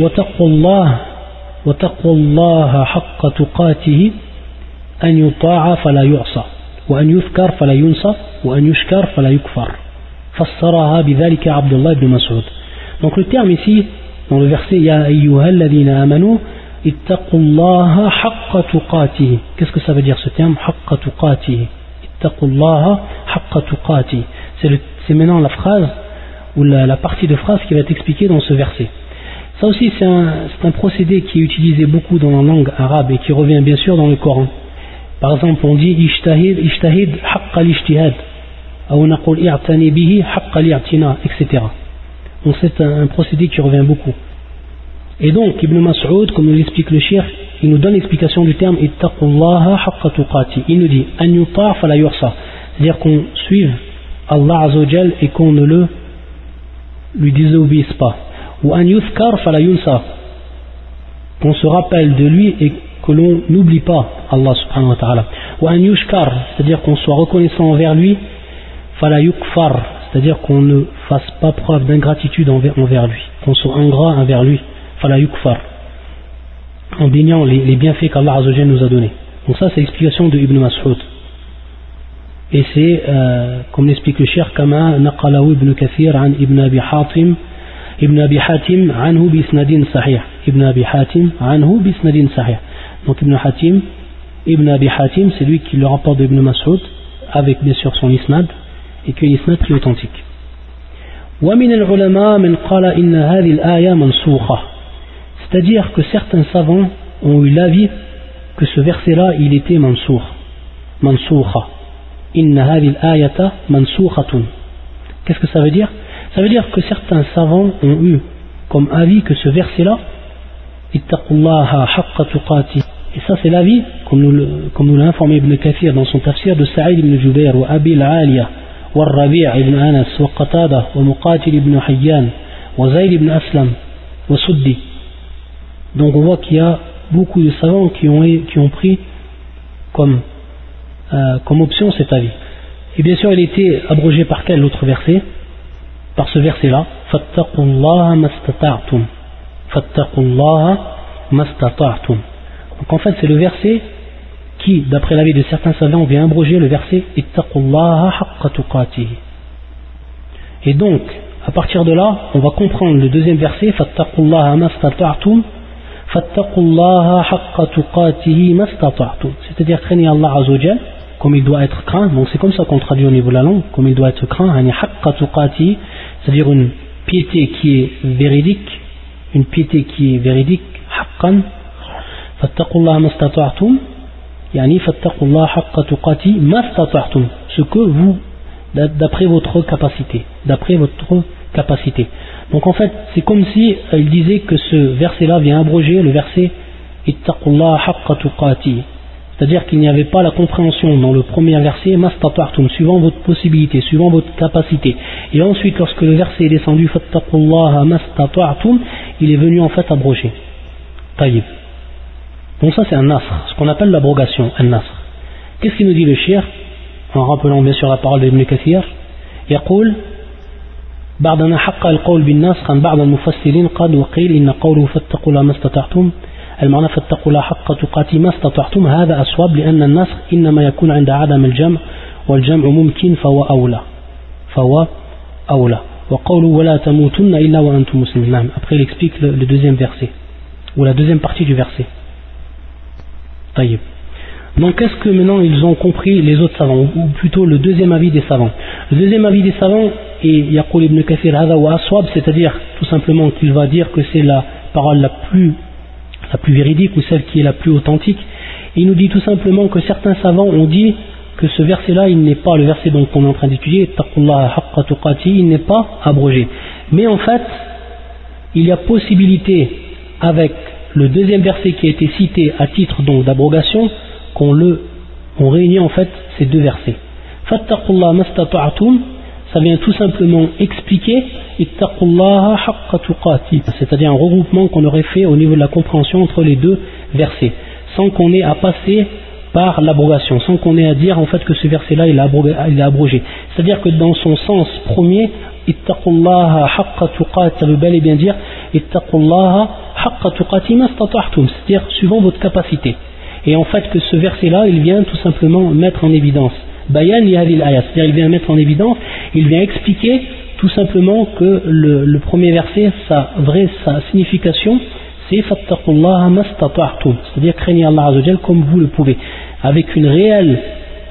وتقوى الله حق تقاته أن يطاع فلا يعصى وأن يذكر فلا ينسى وأن يشكر فلا يكفر فسرها بذلك عبد الله بن مسعود. Donc le terme ici dans le verset يا أيها الذين آمنوا اتقوا الله حق تقاته. Qu'est-ce que ça veut dire ce terme حق تقاته؟ اتقوا الله حق تقاته. C'est maintenant la phrase ou la partie de phrase qui va être expliquée dans ce verset. Ça aussi c'est un procédé qui est utilisé beaucoup dans la langue arabe et qui revient bien sûr dans le Coran. Par exemple on dit ijtahid haqqa l'ijtihad ou naqul i'tani bihi haqqa li'tina, etc. Donc c'est un procédé qui revient beaucoup. Et donc Ibn Mas'ud, comme nous l'explique le cheikh, il nous donne l'explication du terme ittaqullaha haqqa tuqati. Il nous dit an yuta' fala yursa, c'est-à-dire qu'on suive Allah Azza wa Jal et qu'on ne lui désobéisse pas. Ou an yuzkar fala yunsa, qu'on se rappelle de lui et que l'on n'oublie pas Allah subhanahu wa ta'ala. Ou an yushkar, c'est-à-dire qu'on soit reconnaissant envers lui, fala yukfar, c'est-à-dire qu'on ne fasse pas preuve d'ingratitude envers lui, qu'on soit ingrat envers lui, fala yukfar, en déniant les bienfaits qu'Allah Azza wa Jalla nous a donnés. Donc ça c'est l'explication de Ibn Mas'ud. Et c'est, comme l'explique le cheikh, kama naqalahu Ibn Kathir an Ibn Abi Hatim anhu bisnadin sahih. Ibn Abi Hatim anhu bisnadin sahih. Donc Ibn Abi Hatim, c'est lui qui le rapporte de Ibn Mas'ud avec bien sûr son isnad, et que l'isnad qui est authentique. ومن العلماء من قال إن هذه الآية منسوخة. C'est-à-dire que certains savants ont eu l'avis que ce verset-là il était mansukha. Inna hadhihi al-ayata mansukhatun. Qu'est-ce que ça veut dire? Ça veut dire que certains savants ont eu comme avis que ce verset-là ittaqullaha haqqa tuqati. Et ça c'est l'avis, comme nous l'a informé Ibn Kathir dans son tafsir, de Sa'id ibn Jubayr, wa Abi al-Aliya, wa Rabi' ibn Anas, wa Qatada, wa Muqatil ibn Hayyan, wa Zayd ibn Aslam, wa Suddi. Donc on voit qu'il y a beaucoup de savants qui ont pris comme option cet avis. Et bien sûr il était abrogé par quel autre verset? Par ce verset là, fattaqullaha mastata'tum, fattaqullaha mastata'tum. Donc en fait c'est le verset qui, d'après l'avis de certains savants, vient abroger le verset ittaqullaha haqqa tuqatihi. Et donc à partir de là on va comprendre le deuxième verset, fattaqullaha mastata'tum, fattaqullaha haqqa tuqatihi mastata'tum, c'est-à-dire craignez Allah Azza wa Jalla comme il doit être craint. Donc c'est comme ça qu'on traduit au niveau de la langue, comme il doit être craint, haqqa tuqatihi, c'est-à-dire une piété qui est véridique, haqqan. Fattaqullaha mastata'tum, yani fattaqullaha haqqa tuqatihi mastata'tum, ce que vous, d'après votre capacité. Donc en fait c'est comme si il disait que ce verset là vient abroger le verset ittaqullaha haqqa tuqatihi, c'est-à-dire qu'il n'y avait pas la compréhension dans le premier verset mastata'tum, suivant votre possibilité, suivant votre capacité. Et ensuite lorsque le verset est descendu fattaqullaha mastata'tum, il est venu en fait abroger. Taïb. Donc ça c'est un nasr, ce qu'on appelle l'abrogation, un nasr. Qu'est-ce qu'il nous dit le shir, en rappelant bien sûr la parole d'Ibn Kathir? يقول بعدنا حق القول بالنسخ عن بعض المفسرين قد وقيل إن قوله فاتقوا الله ما استطعتم المعنى فاتقوا الله حق تقاته ما استطعتم هذا أصوب لأن النسخ إنما يكون عند عدم الجمع والجمع ممكن فهو أولى وقوله ولا تموتن إلا وأنتم مسلمون. Après il explique le deuxième verset ou la deuxième partie du verset. طيب. Donc qu'est-ce que maintenant ils ont compris les autres savants, ou plutôt le deuxième avis des savants? Le deuxième avis des savants est Yaqul ibn Kathir hadha wa aswab, c'est-à-dire tout simplement qu'il va dire que c'est la parole la plus véridique ou celle qui est la plus authentique. Et il nous dit tout simplement que certains savants ont dit que ce verset-là, il n'est pas le verset dont on est en train d'étudier, ittaqullaha haqqa tuqatihi, il n'est pas abrogé. Mais en fait, il y a possibilité avec le deuxième verset qui a été cité à titre donc d'abrogation, on réunit en fait ces deux versets. Fattaqullaha mastata'tum, ça vient tout simplement expliquer ittaqullaha haqqa tuqatihi, c'est-à-dire un regroupement qu'on aurait fait au niveau de la compréhension entre les deux versets, sans qu'on ait à passer par l'abrogation, sans qu'on ait à dire en fait que ce verset-là il est abrogé. C'est-à-dire que dans son sens premier, ittaqullaha haqqa tuqatihi, ça veut bel et bien dire ittaqullaha haqqa tuqatihi mastata'tum, c'est-à-dire suivant votre capacité. Et en fait que ce verset-là, il vient tout simplement mettre en évidence bayan yahil ayat, c'est-à-dire il vient mettre en évidence, il vient expliquer tout simplement que le premier verset, sa signification, c'est fattaqullaha mastata'tum, c'est-à-dire craignez Allah Azza wa Jalla comme vous le pouvez, avec une réelle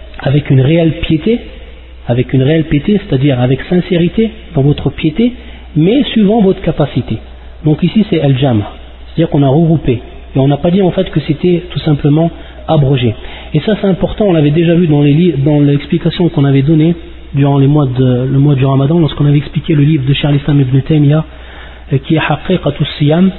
piété, c'est-à-dire avec sincérité dans votre piété, mais suivant votre capacité. Donc ici c'est al-jam', c'est-à-dire qu'on a regroupé. Et on n'a pas dit en fait que c'était tout simplement abrogé. Et ça c'est important, on l'avait déjà vu dans l'explication qu'on avait donnée durant le mois du Ramadan, lorsqu'on avait expliqué le livre de Cheikh al-Islam ibn Taymiyyah qui est Haqiqatus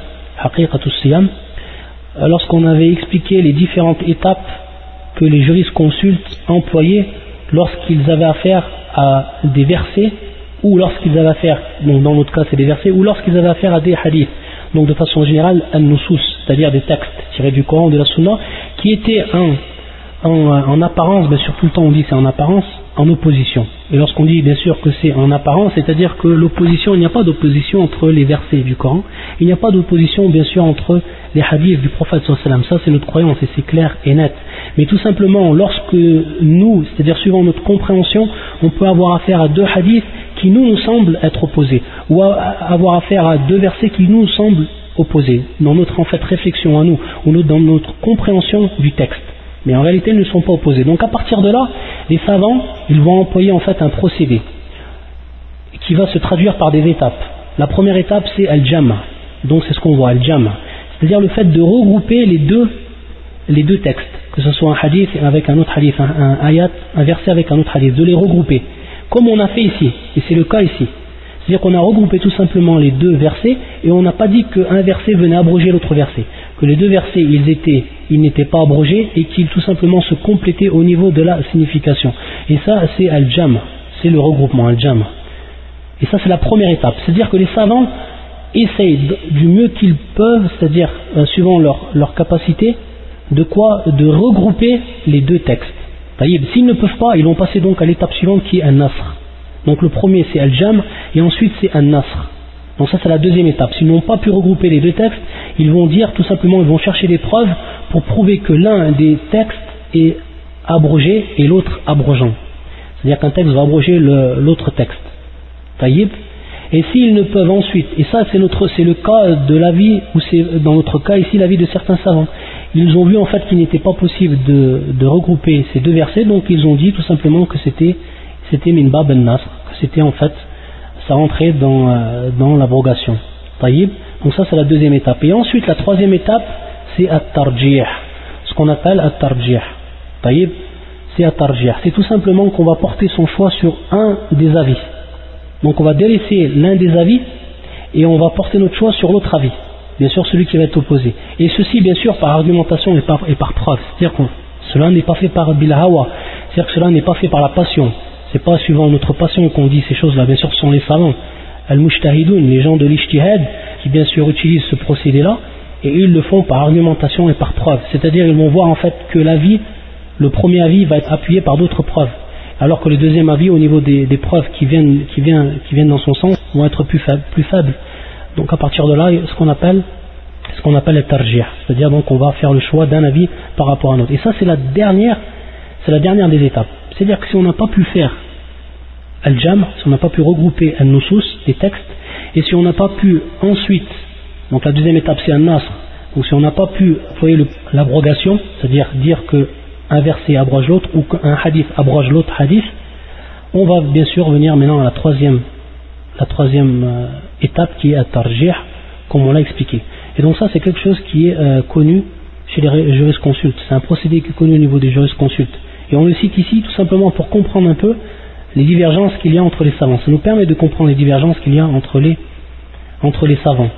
Siyam, lorsqu'on avait expliqué les différentes étapes que les jurisconsultes employaient lorsqu'ils avaient affaire à des versets, ou lorsqu'ils avaient affaire, donc dans notre cas c'est des versets, ou lorsqu'ils avaient affaire à des hadiths. Donc de façon générale, an-nusus, c'est-à-dire des textes tirés du Coran, de la Sunna, qui étaient en apparence, bien sûr tout le temps on dit c'est en apparence, en opposition. Et lorsqu'on dit bien sûr que c'est en apparence, c'est-à-dire que l'opposition, il n'y a pas d'opposition entre les versets du Coran, il n'y a pas d'opposition bien sûr entre les hadiths du prophète sallallahu alayhi wa sallam, ça c'est notre croyance et c'est clair et net. Mais tout simplement, lorsque nous, c'est-à-dire suivant notre compréhension, on peut avoir affaire à deux hadiths qui nous semblent être opposés, ou avoir affaire à deux versets qui nous semblent opposés, dans notre en fait réflexion à nous, ou dans notre compréhension du texte. Mais en réalité, ils ne sont pas opposés. Donc à partir de là, les savants, ils vont employer en fait un procédé qui va se traduire par des étapes. La première étape, c'est al-jam'. Donc c'est ce qu'on voit, al-jam'. C'est-à-dire le fait de regrouper les deux textes, que ce soit un hadith avec un autre hadith, un ayat, un verset avec un autre hadith, de les regrouper, comme on a fait ici, et c'est le cas ici. C'est-à-dire qu'on a regroupé tout simplement les deux versets et on n'a pas dit qu'un verset venait abroger l'autre verset. Que les deux versets, ils n'étaient pas abrogés et qu'ils tout simplement se complétaient au niveau de la signification. Et ça, c'est al-jam', c'est le regroupement, al-jam'. Et ça, c'est la première étape. C'est-à-dire que les savants essayent du mieux qu'ils peuvent, c'est-à-dire suivant leur capacité, de regrouper les deux textes. S'ils ne peuvent pas, ils vont passer donc à l'étape suivante qui est al-nasr. Donc le premier c'est al-jam' et ensuite c'est al-nasr. Donc ça c'est la deuxième étape. S'ils n'ont pas pu regrouper les deux textes, ils vont dire tout simplement, ils vont chercher des preuves pour prouver que l'un des textes est abrogé et l'autre abrogeant. C'est-à-dire qu'un texte va abroger l'autre texte. Taïb. Et s'ils ne peuvent ensuite, et ça c'est le cas de l'avis, ou c'est dans notre cas ici l'avis de certains savants, ils ont vu en fait qu'il n'était pas possible de regrouper ces deux versets, donc ils ont dit tout simplement que c'était min bab al-nasr, que c'était en fait, ça rentrait dans l'abrogation. Taïb. Donc ça c'est la deuxième étape. Et ensuite la troisième étape c'est at-tarjih, ce qu'on appelle at-tarjih. Taïb. C'est at-tarjih. C'est tout simplement qu'on va porter son choix sur un des avis. Donc on va délaisser l'un des avis et on va porter notre choix sur l'autre avis, bien sûr celui qui va être opposé. Et ceci bien sûr par argumentation et par preuve. C'est-à-dire que cela n'est pas fait par bil hawa, c'est-à-dire que cela n'est pas fait par la passion. C'est pas suivant notre passion qu'on dit ces choses-là. Bien sûr ce sont les savants, al-mujtahidoun, les gens de l'ijtihad, qui bien sûr utilisent ce procédé-là, et ils le font par argumentation et par preuve. C'est-à-dire ils vont voir en fait que le premier avis va être appuyé par d'autres preuves, alors que le deuxième avis au niveau des preuves qui viennent dans son sens vont être plus faibles. Donc à partir de là, ce qu'on appelle le tarjih, c'est-à-dire donc on va faire le choix d'un avis par rapport à un autre. Et ça c'est la dernière des étapes. C'est-à-dire que si on n'a pas pu faire al-jam', si on n'a pas pu regrouper al-nusus, les textes, et si on n'a pas pu ensuite, donc la deuxième étape c'est al-nasr, ou si on n'a pas pu employer l'abrogation, c'est-à-dire dire que un verset abroge l'autre ou qu'un hadith abroge l'autre hadith, on va bien sûr venir maintenant à la troisième étape qui est at-tarjih, comme on l'a expliqué. Et donc ça c'est quelque chose qui est connu chez les jurisconsultes, c'est un procédé qui est connu au niveau des jurisconsultes. Et on le cite ici tout simplement pour comprendre un peu les divergences qu'il y a entre les savants. Ça nous permet de comprendre les divergences qu'il y a entre les savants.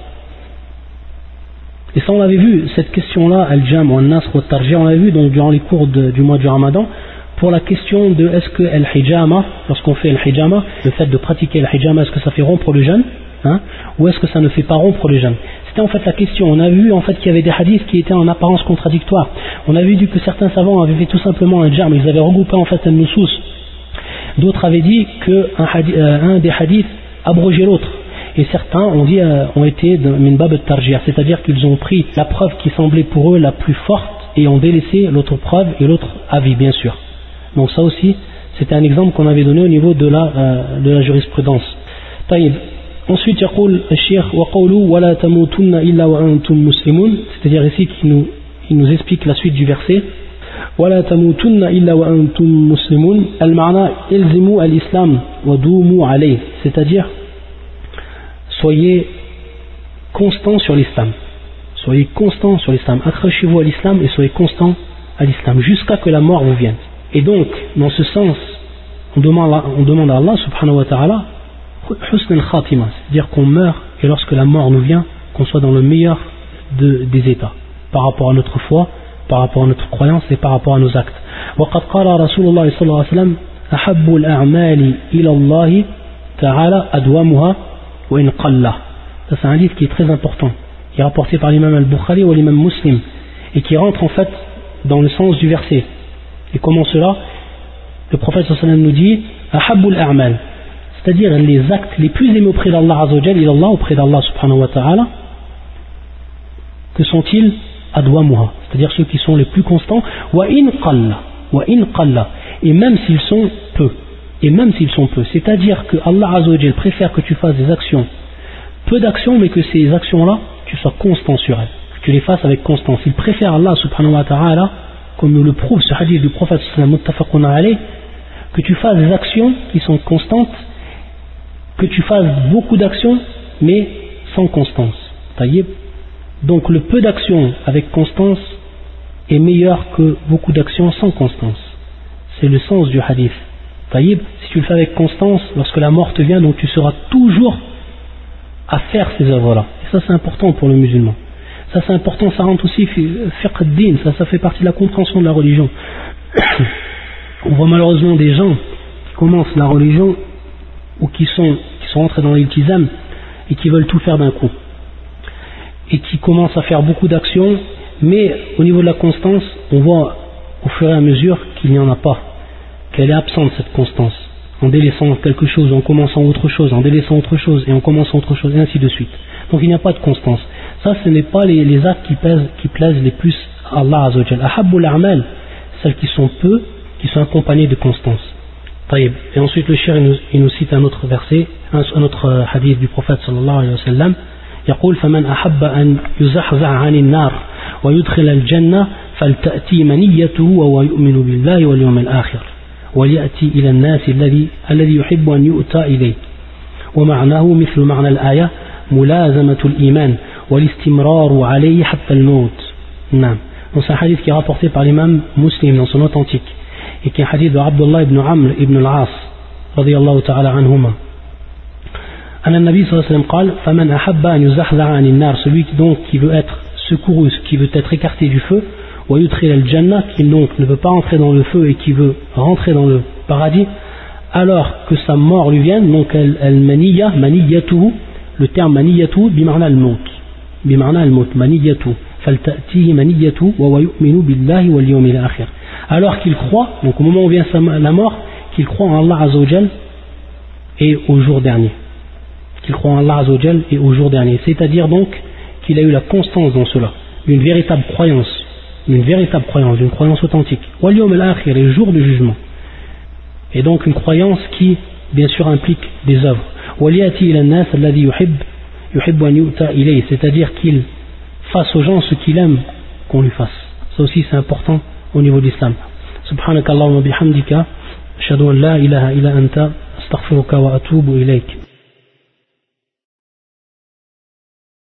Et ça on avait vu, cette question-là, al-jam' ou al-nasr ou al-tarjih, on l'avait vu donc durant les cours du mois du Ramadan, pour la question de est-ce que al-hijama, lorsqu'on fait al-hijama, le fait de pratiquer al-hijama, est-ce que ça fait rompre le jeûne, ou est-ce que ça ne fait pas rompre le jeûne? C'était en fait la question. On a vu en fait qu'il y avait des hadiths qui étaient en apparence contradictoires. On avait vu que certains savants avaient fait tout simplement un jam', ils avaient regroupé en fait un nusus. D'autres avaient dit qu'un des hadiths abrogeait l'autre. Et certains ont été min bab al-tarjih, c'est-à-dire qu'ils ont pris la preuve qui semblait pour eux la plus forte et ont délaissé l'autre preuve et l'autre avis bien sûr. Donc ça aussi c'était un exemple qu'on avait donné au niveau de la jurisprudence. Taïb. Ensuite يقول الشيخ وقوله ولا تموتن إلا وأنتم مسلمون, c'est-à-dire ici il nous explique la suite du verset ولا تموتن إلا وأنتم مسلمون المعنى الزموا الإسلام ودوموا عليه, c'est-à-dire soyez constants sur l'islam, accrochez-vous à l'islam et soyez constants à l'islam jusqu'à que la mort vous vienne. Et donc dans ce sens on demande à Allah subhanahu wa ta'ala husn al-khatima, c'est-à-dire qu'on meurt et lorsque la mort nous vient, qu'on soit dans le meilleur des états par rapport à notre foi, par rapport à notre croyance et par rapport à nos actes. وقد قال رسول الله صلى الله عليه وسلم أحب الأعمال إلى الله تعالى أدومها وإن قل. Ça c'est un livre qui est très important, qui est rapporté par l'imam al-Bukhari ou l'imam Muslim et qui rentre en fait dans le sens du verset. Et comment cela? Le prophète sallallahu alayhi wa sallam nous dit أحب الأعمال, c'est-à-dire les actes les plus aimés auprès d'Allah Azzawajal, ilallah, auprès d'Allah subhanahu wa ta'ala, que sont-ils? Adwamuha, c'est-à-dire ceux qui sont les plus constants, wa in qalla, et même s'ils sont peu, c'est-à-dire que Allah Azzawajal préfère que tu fasses des actions, peu d'actions, mais que ces actions-là, tu sois constant sur elles, que tu les fasses avec constance. Il préfère Allah subhanahu wa ta'ala, comme nous le prouve ce hadith du prophète sallallahu muttafaqun alayh, que tu fasses des actions qui sont constantes, que tu fasses beaucoup d'actions mais sans constance. Taïb. Donc le peu d'actions avec constance est meilleur que beaucoup d'actions sans constance. C'est le sens du hadith. Taïb, si tu le fais avec constance, lorsque la mort te vient, donc tu seras toujours à faire ces œuvres-là. Et ça c'est important pour le musulman. Ça c'est important, ça rentre aussi fiqh ad-din, ça fait partie de la compréhension de la religion. On voit malheureusement des gens qui commencent la religion ou qui sont entrés dans l'iltizam et qui veulent tout faire d'un coup. Et qui commencent à faire beaucoup d'actions, mais au niveau de la constance, on voit au fur et à mesure qu'il n'y en a pas, qu'elle est absente cette constance. En délaissant quelque chose, en commençant autre chose, en délaissant autre chose, et en commençant autre chose, et ainsi de suite. Donc il n'y a pas de constance. Ça, ce n'est pas les actes qui plaisent les plus à Allah Azza wa Jal. Ahabbul a'mal, celles qui sont peu, qui sont accompagnées de constance. Taïb. Et ensuite le cheikh il nous cite un autre verset, un autre hadith du prophète sallallahu alayhi wa sallam. يقول فمن أحب أن يزحزح عن النار ويدخل الجنة فلتأتي منيته وهو يؤمن بالله واليوم الآخر وليأتي إلى الناس الذي يحب أن يؤتى إليه ومعناه مثل معنى الآية ملازمة الإيمان والاستمرار عليه حتى الموت. نعم. Donc c'est un hadith qui est rapporté par l'imam Muslim dans son authentique et qui est un hadith de Abdullah ibn Amr ibn al-As radiyallahu ta'ala anhuma. أن النبي صلى الله عليه وسلم قال فمن أحب أن يزحزح عن النار, celui qui veut être secouru, qui veut être écarté du feu, ويدخل الجنة, qui donc ne veut pas entrer dans le feu et qui veut rentrer dans le paradis, alors que sa mort lui vienne, donc المنية منيته, le terme منيته بمعنى الموت, بمعنى الموت منيته فلتأتيه منيته وهو يؤمن بالله واليوم الآخر, alors qu'il croit, donc au moment où vient la mort, qu'il croit en Allah Azza wa Jal et au jour dernier. Qu'il croit en Allah Azza wa Jal et au jour dernier. C'est-à-dire donc qu'il a eu la constance dans cela, une véritable croyance, d'une croyance authentique. Wal yawm al-akhir, le jour du jugement. Et donc une croyance qui, bien sûr, implique des œuvres. Waliyati ila an-nas alladhi yuhibbu an yu'ta ilayhi, c'est-à-dire qu'il fasse aux gens ce qu'il aime qu'on lui fasse. Ça aussi c'est important au niveau de l'islam. Subhanakallahumma bihamdika, ashhadu an la ilaha illa anta, astaghfiruka wa atubu ilayk.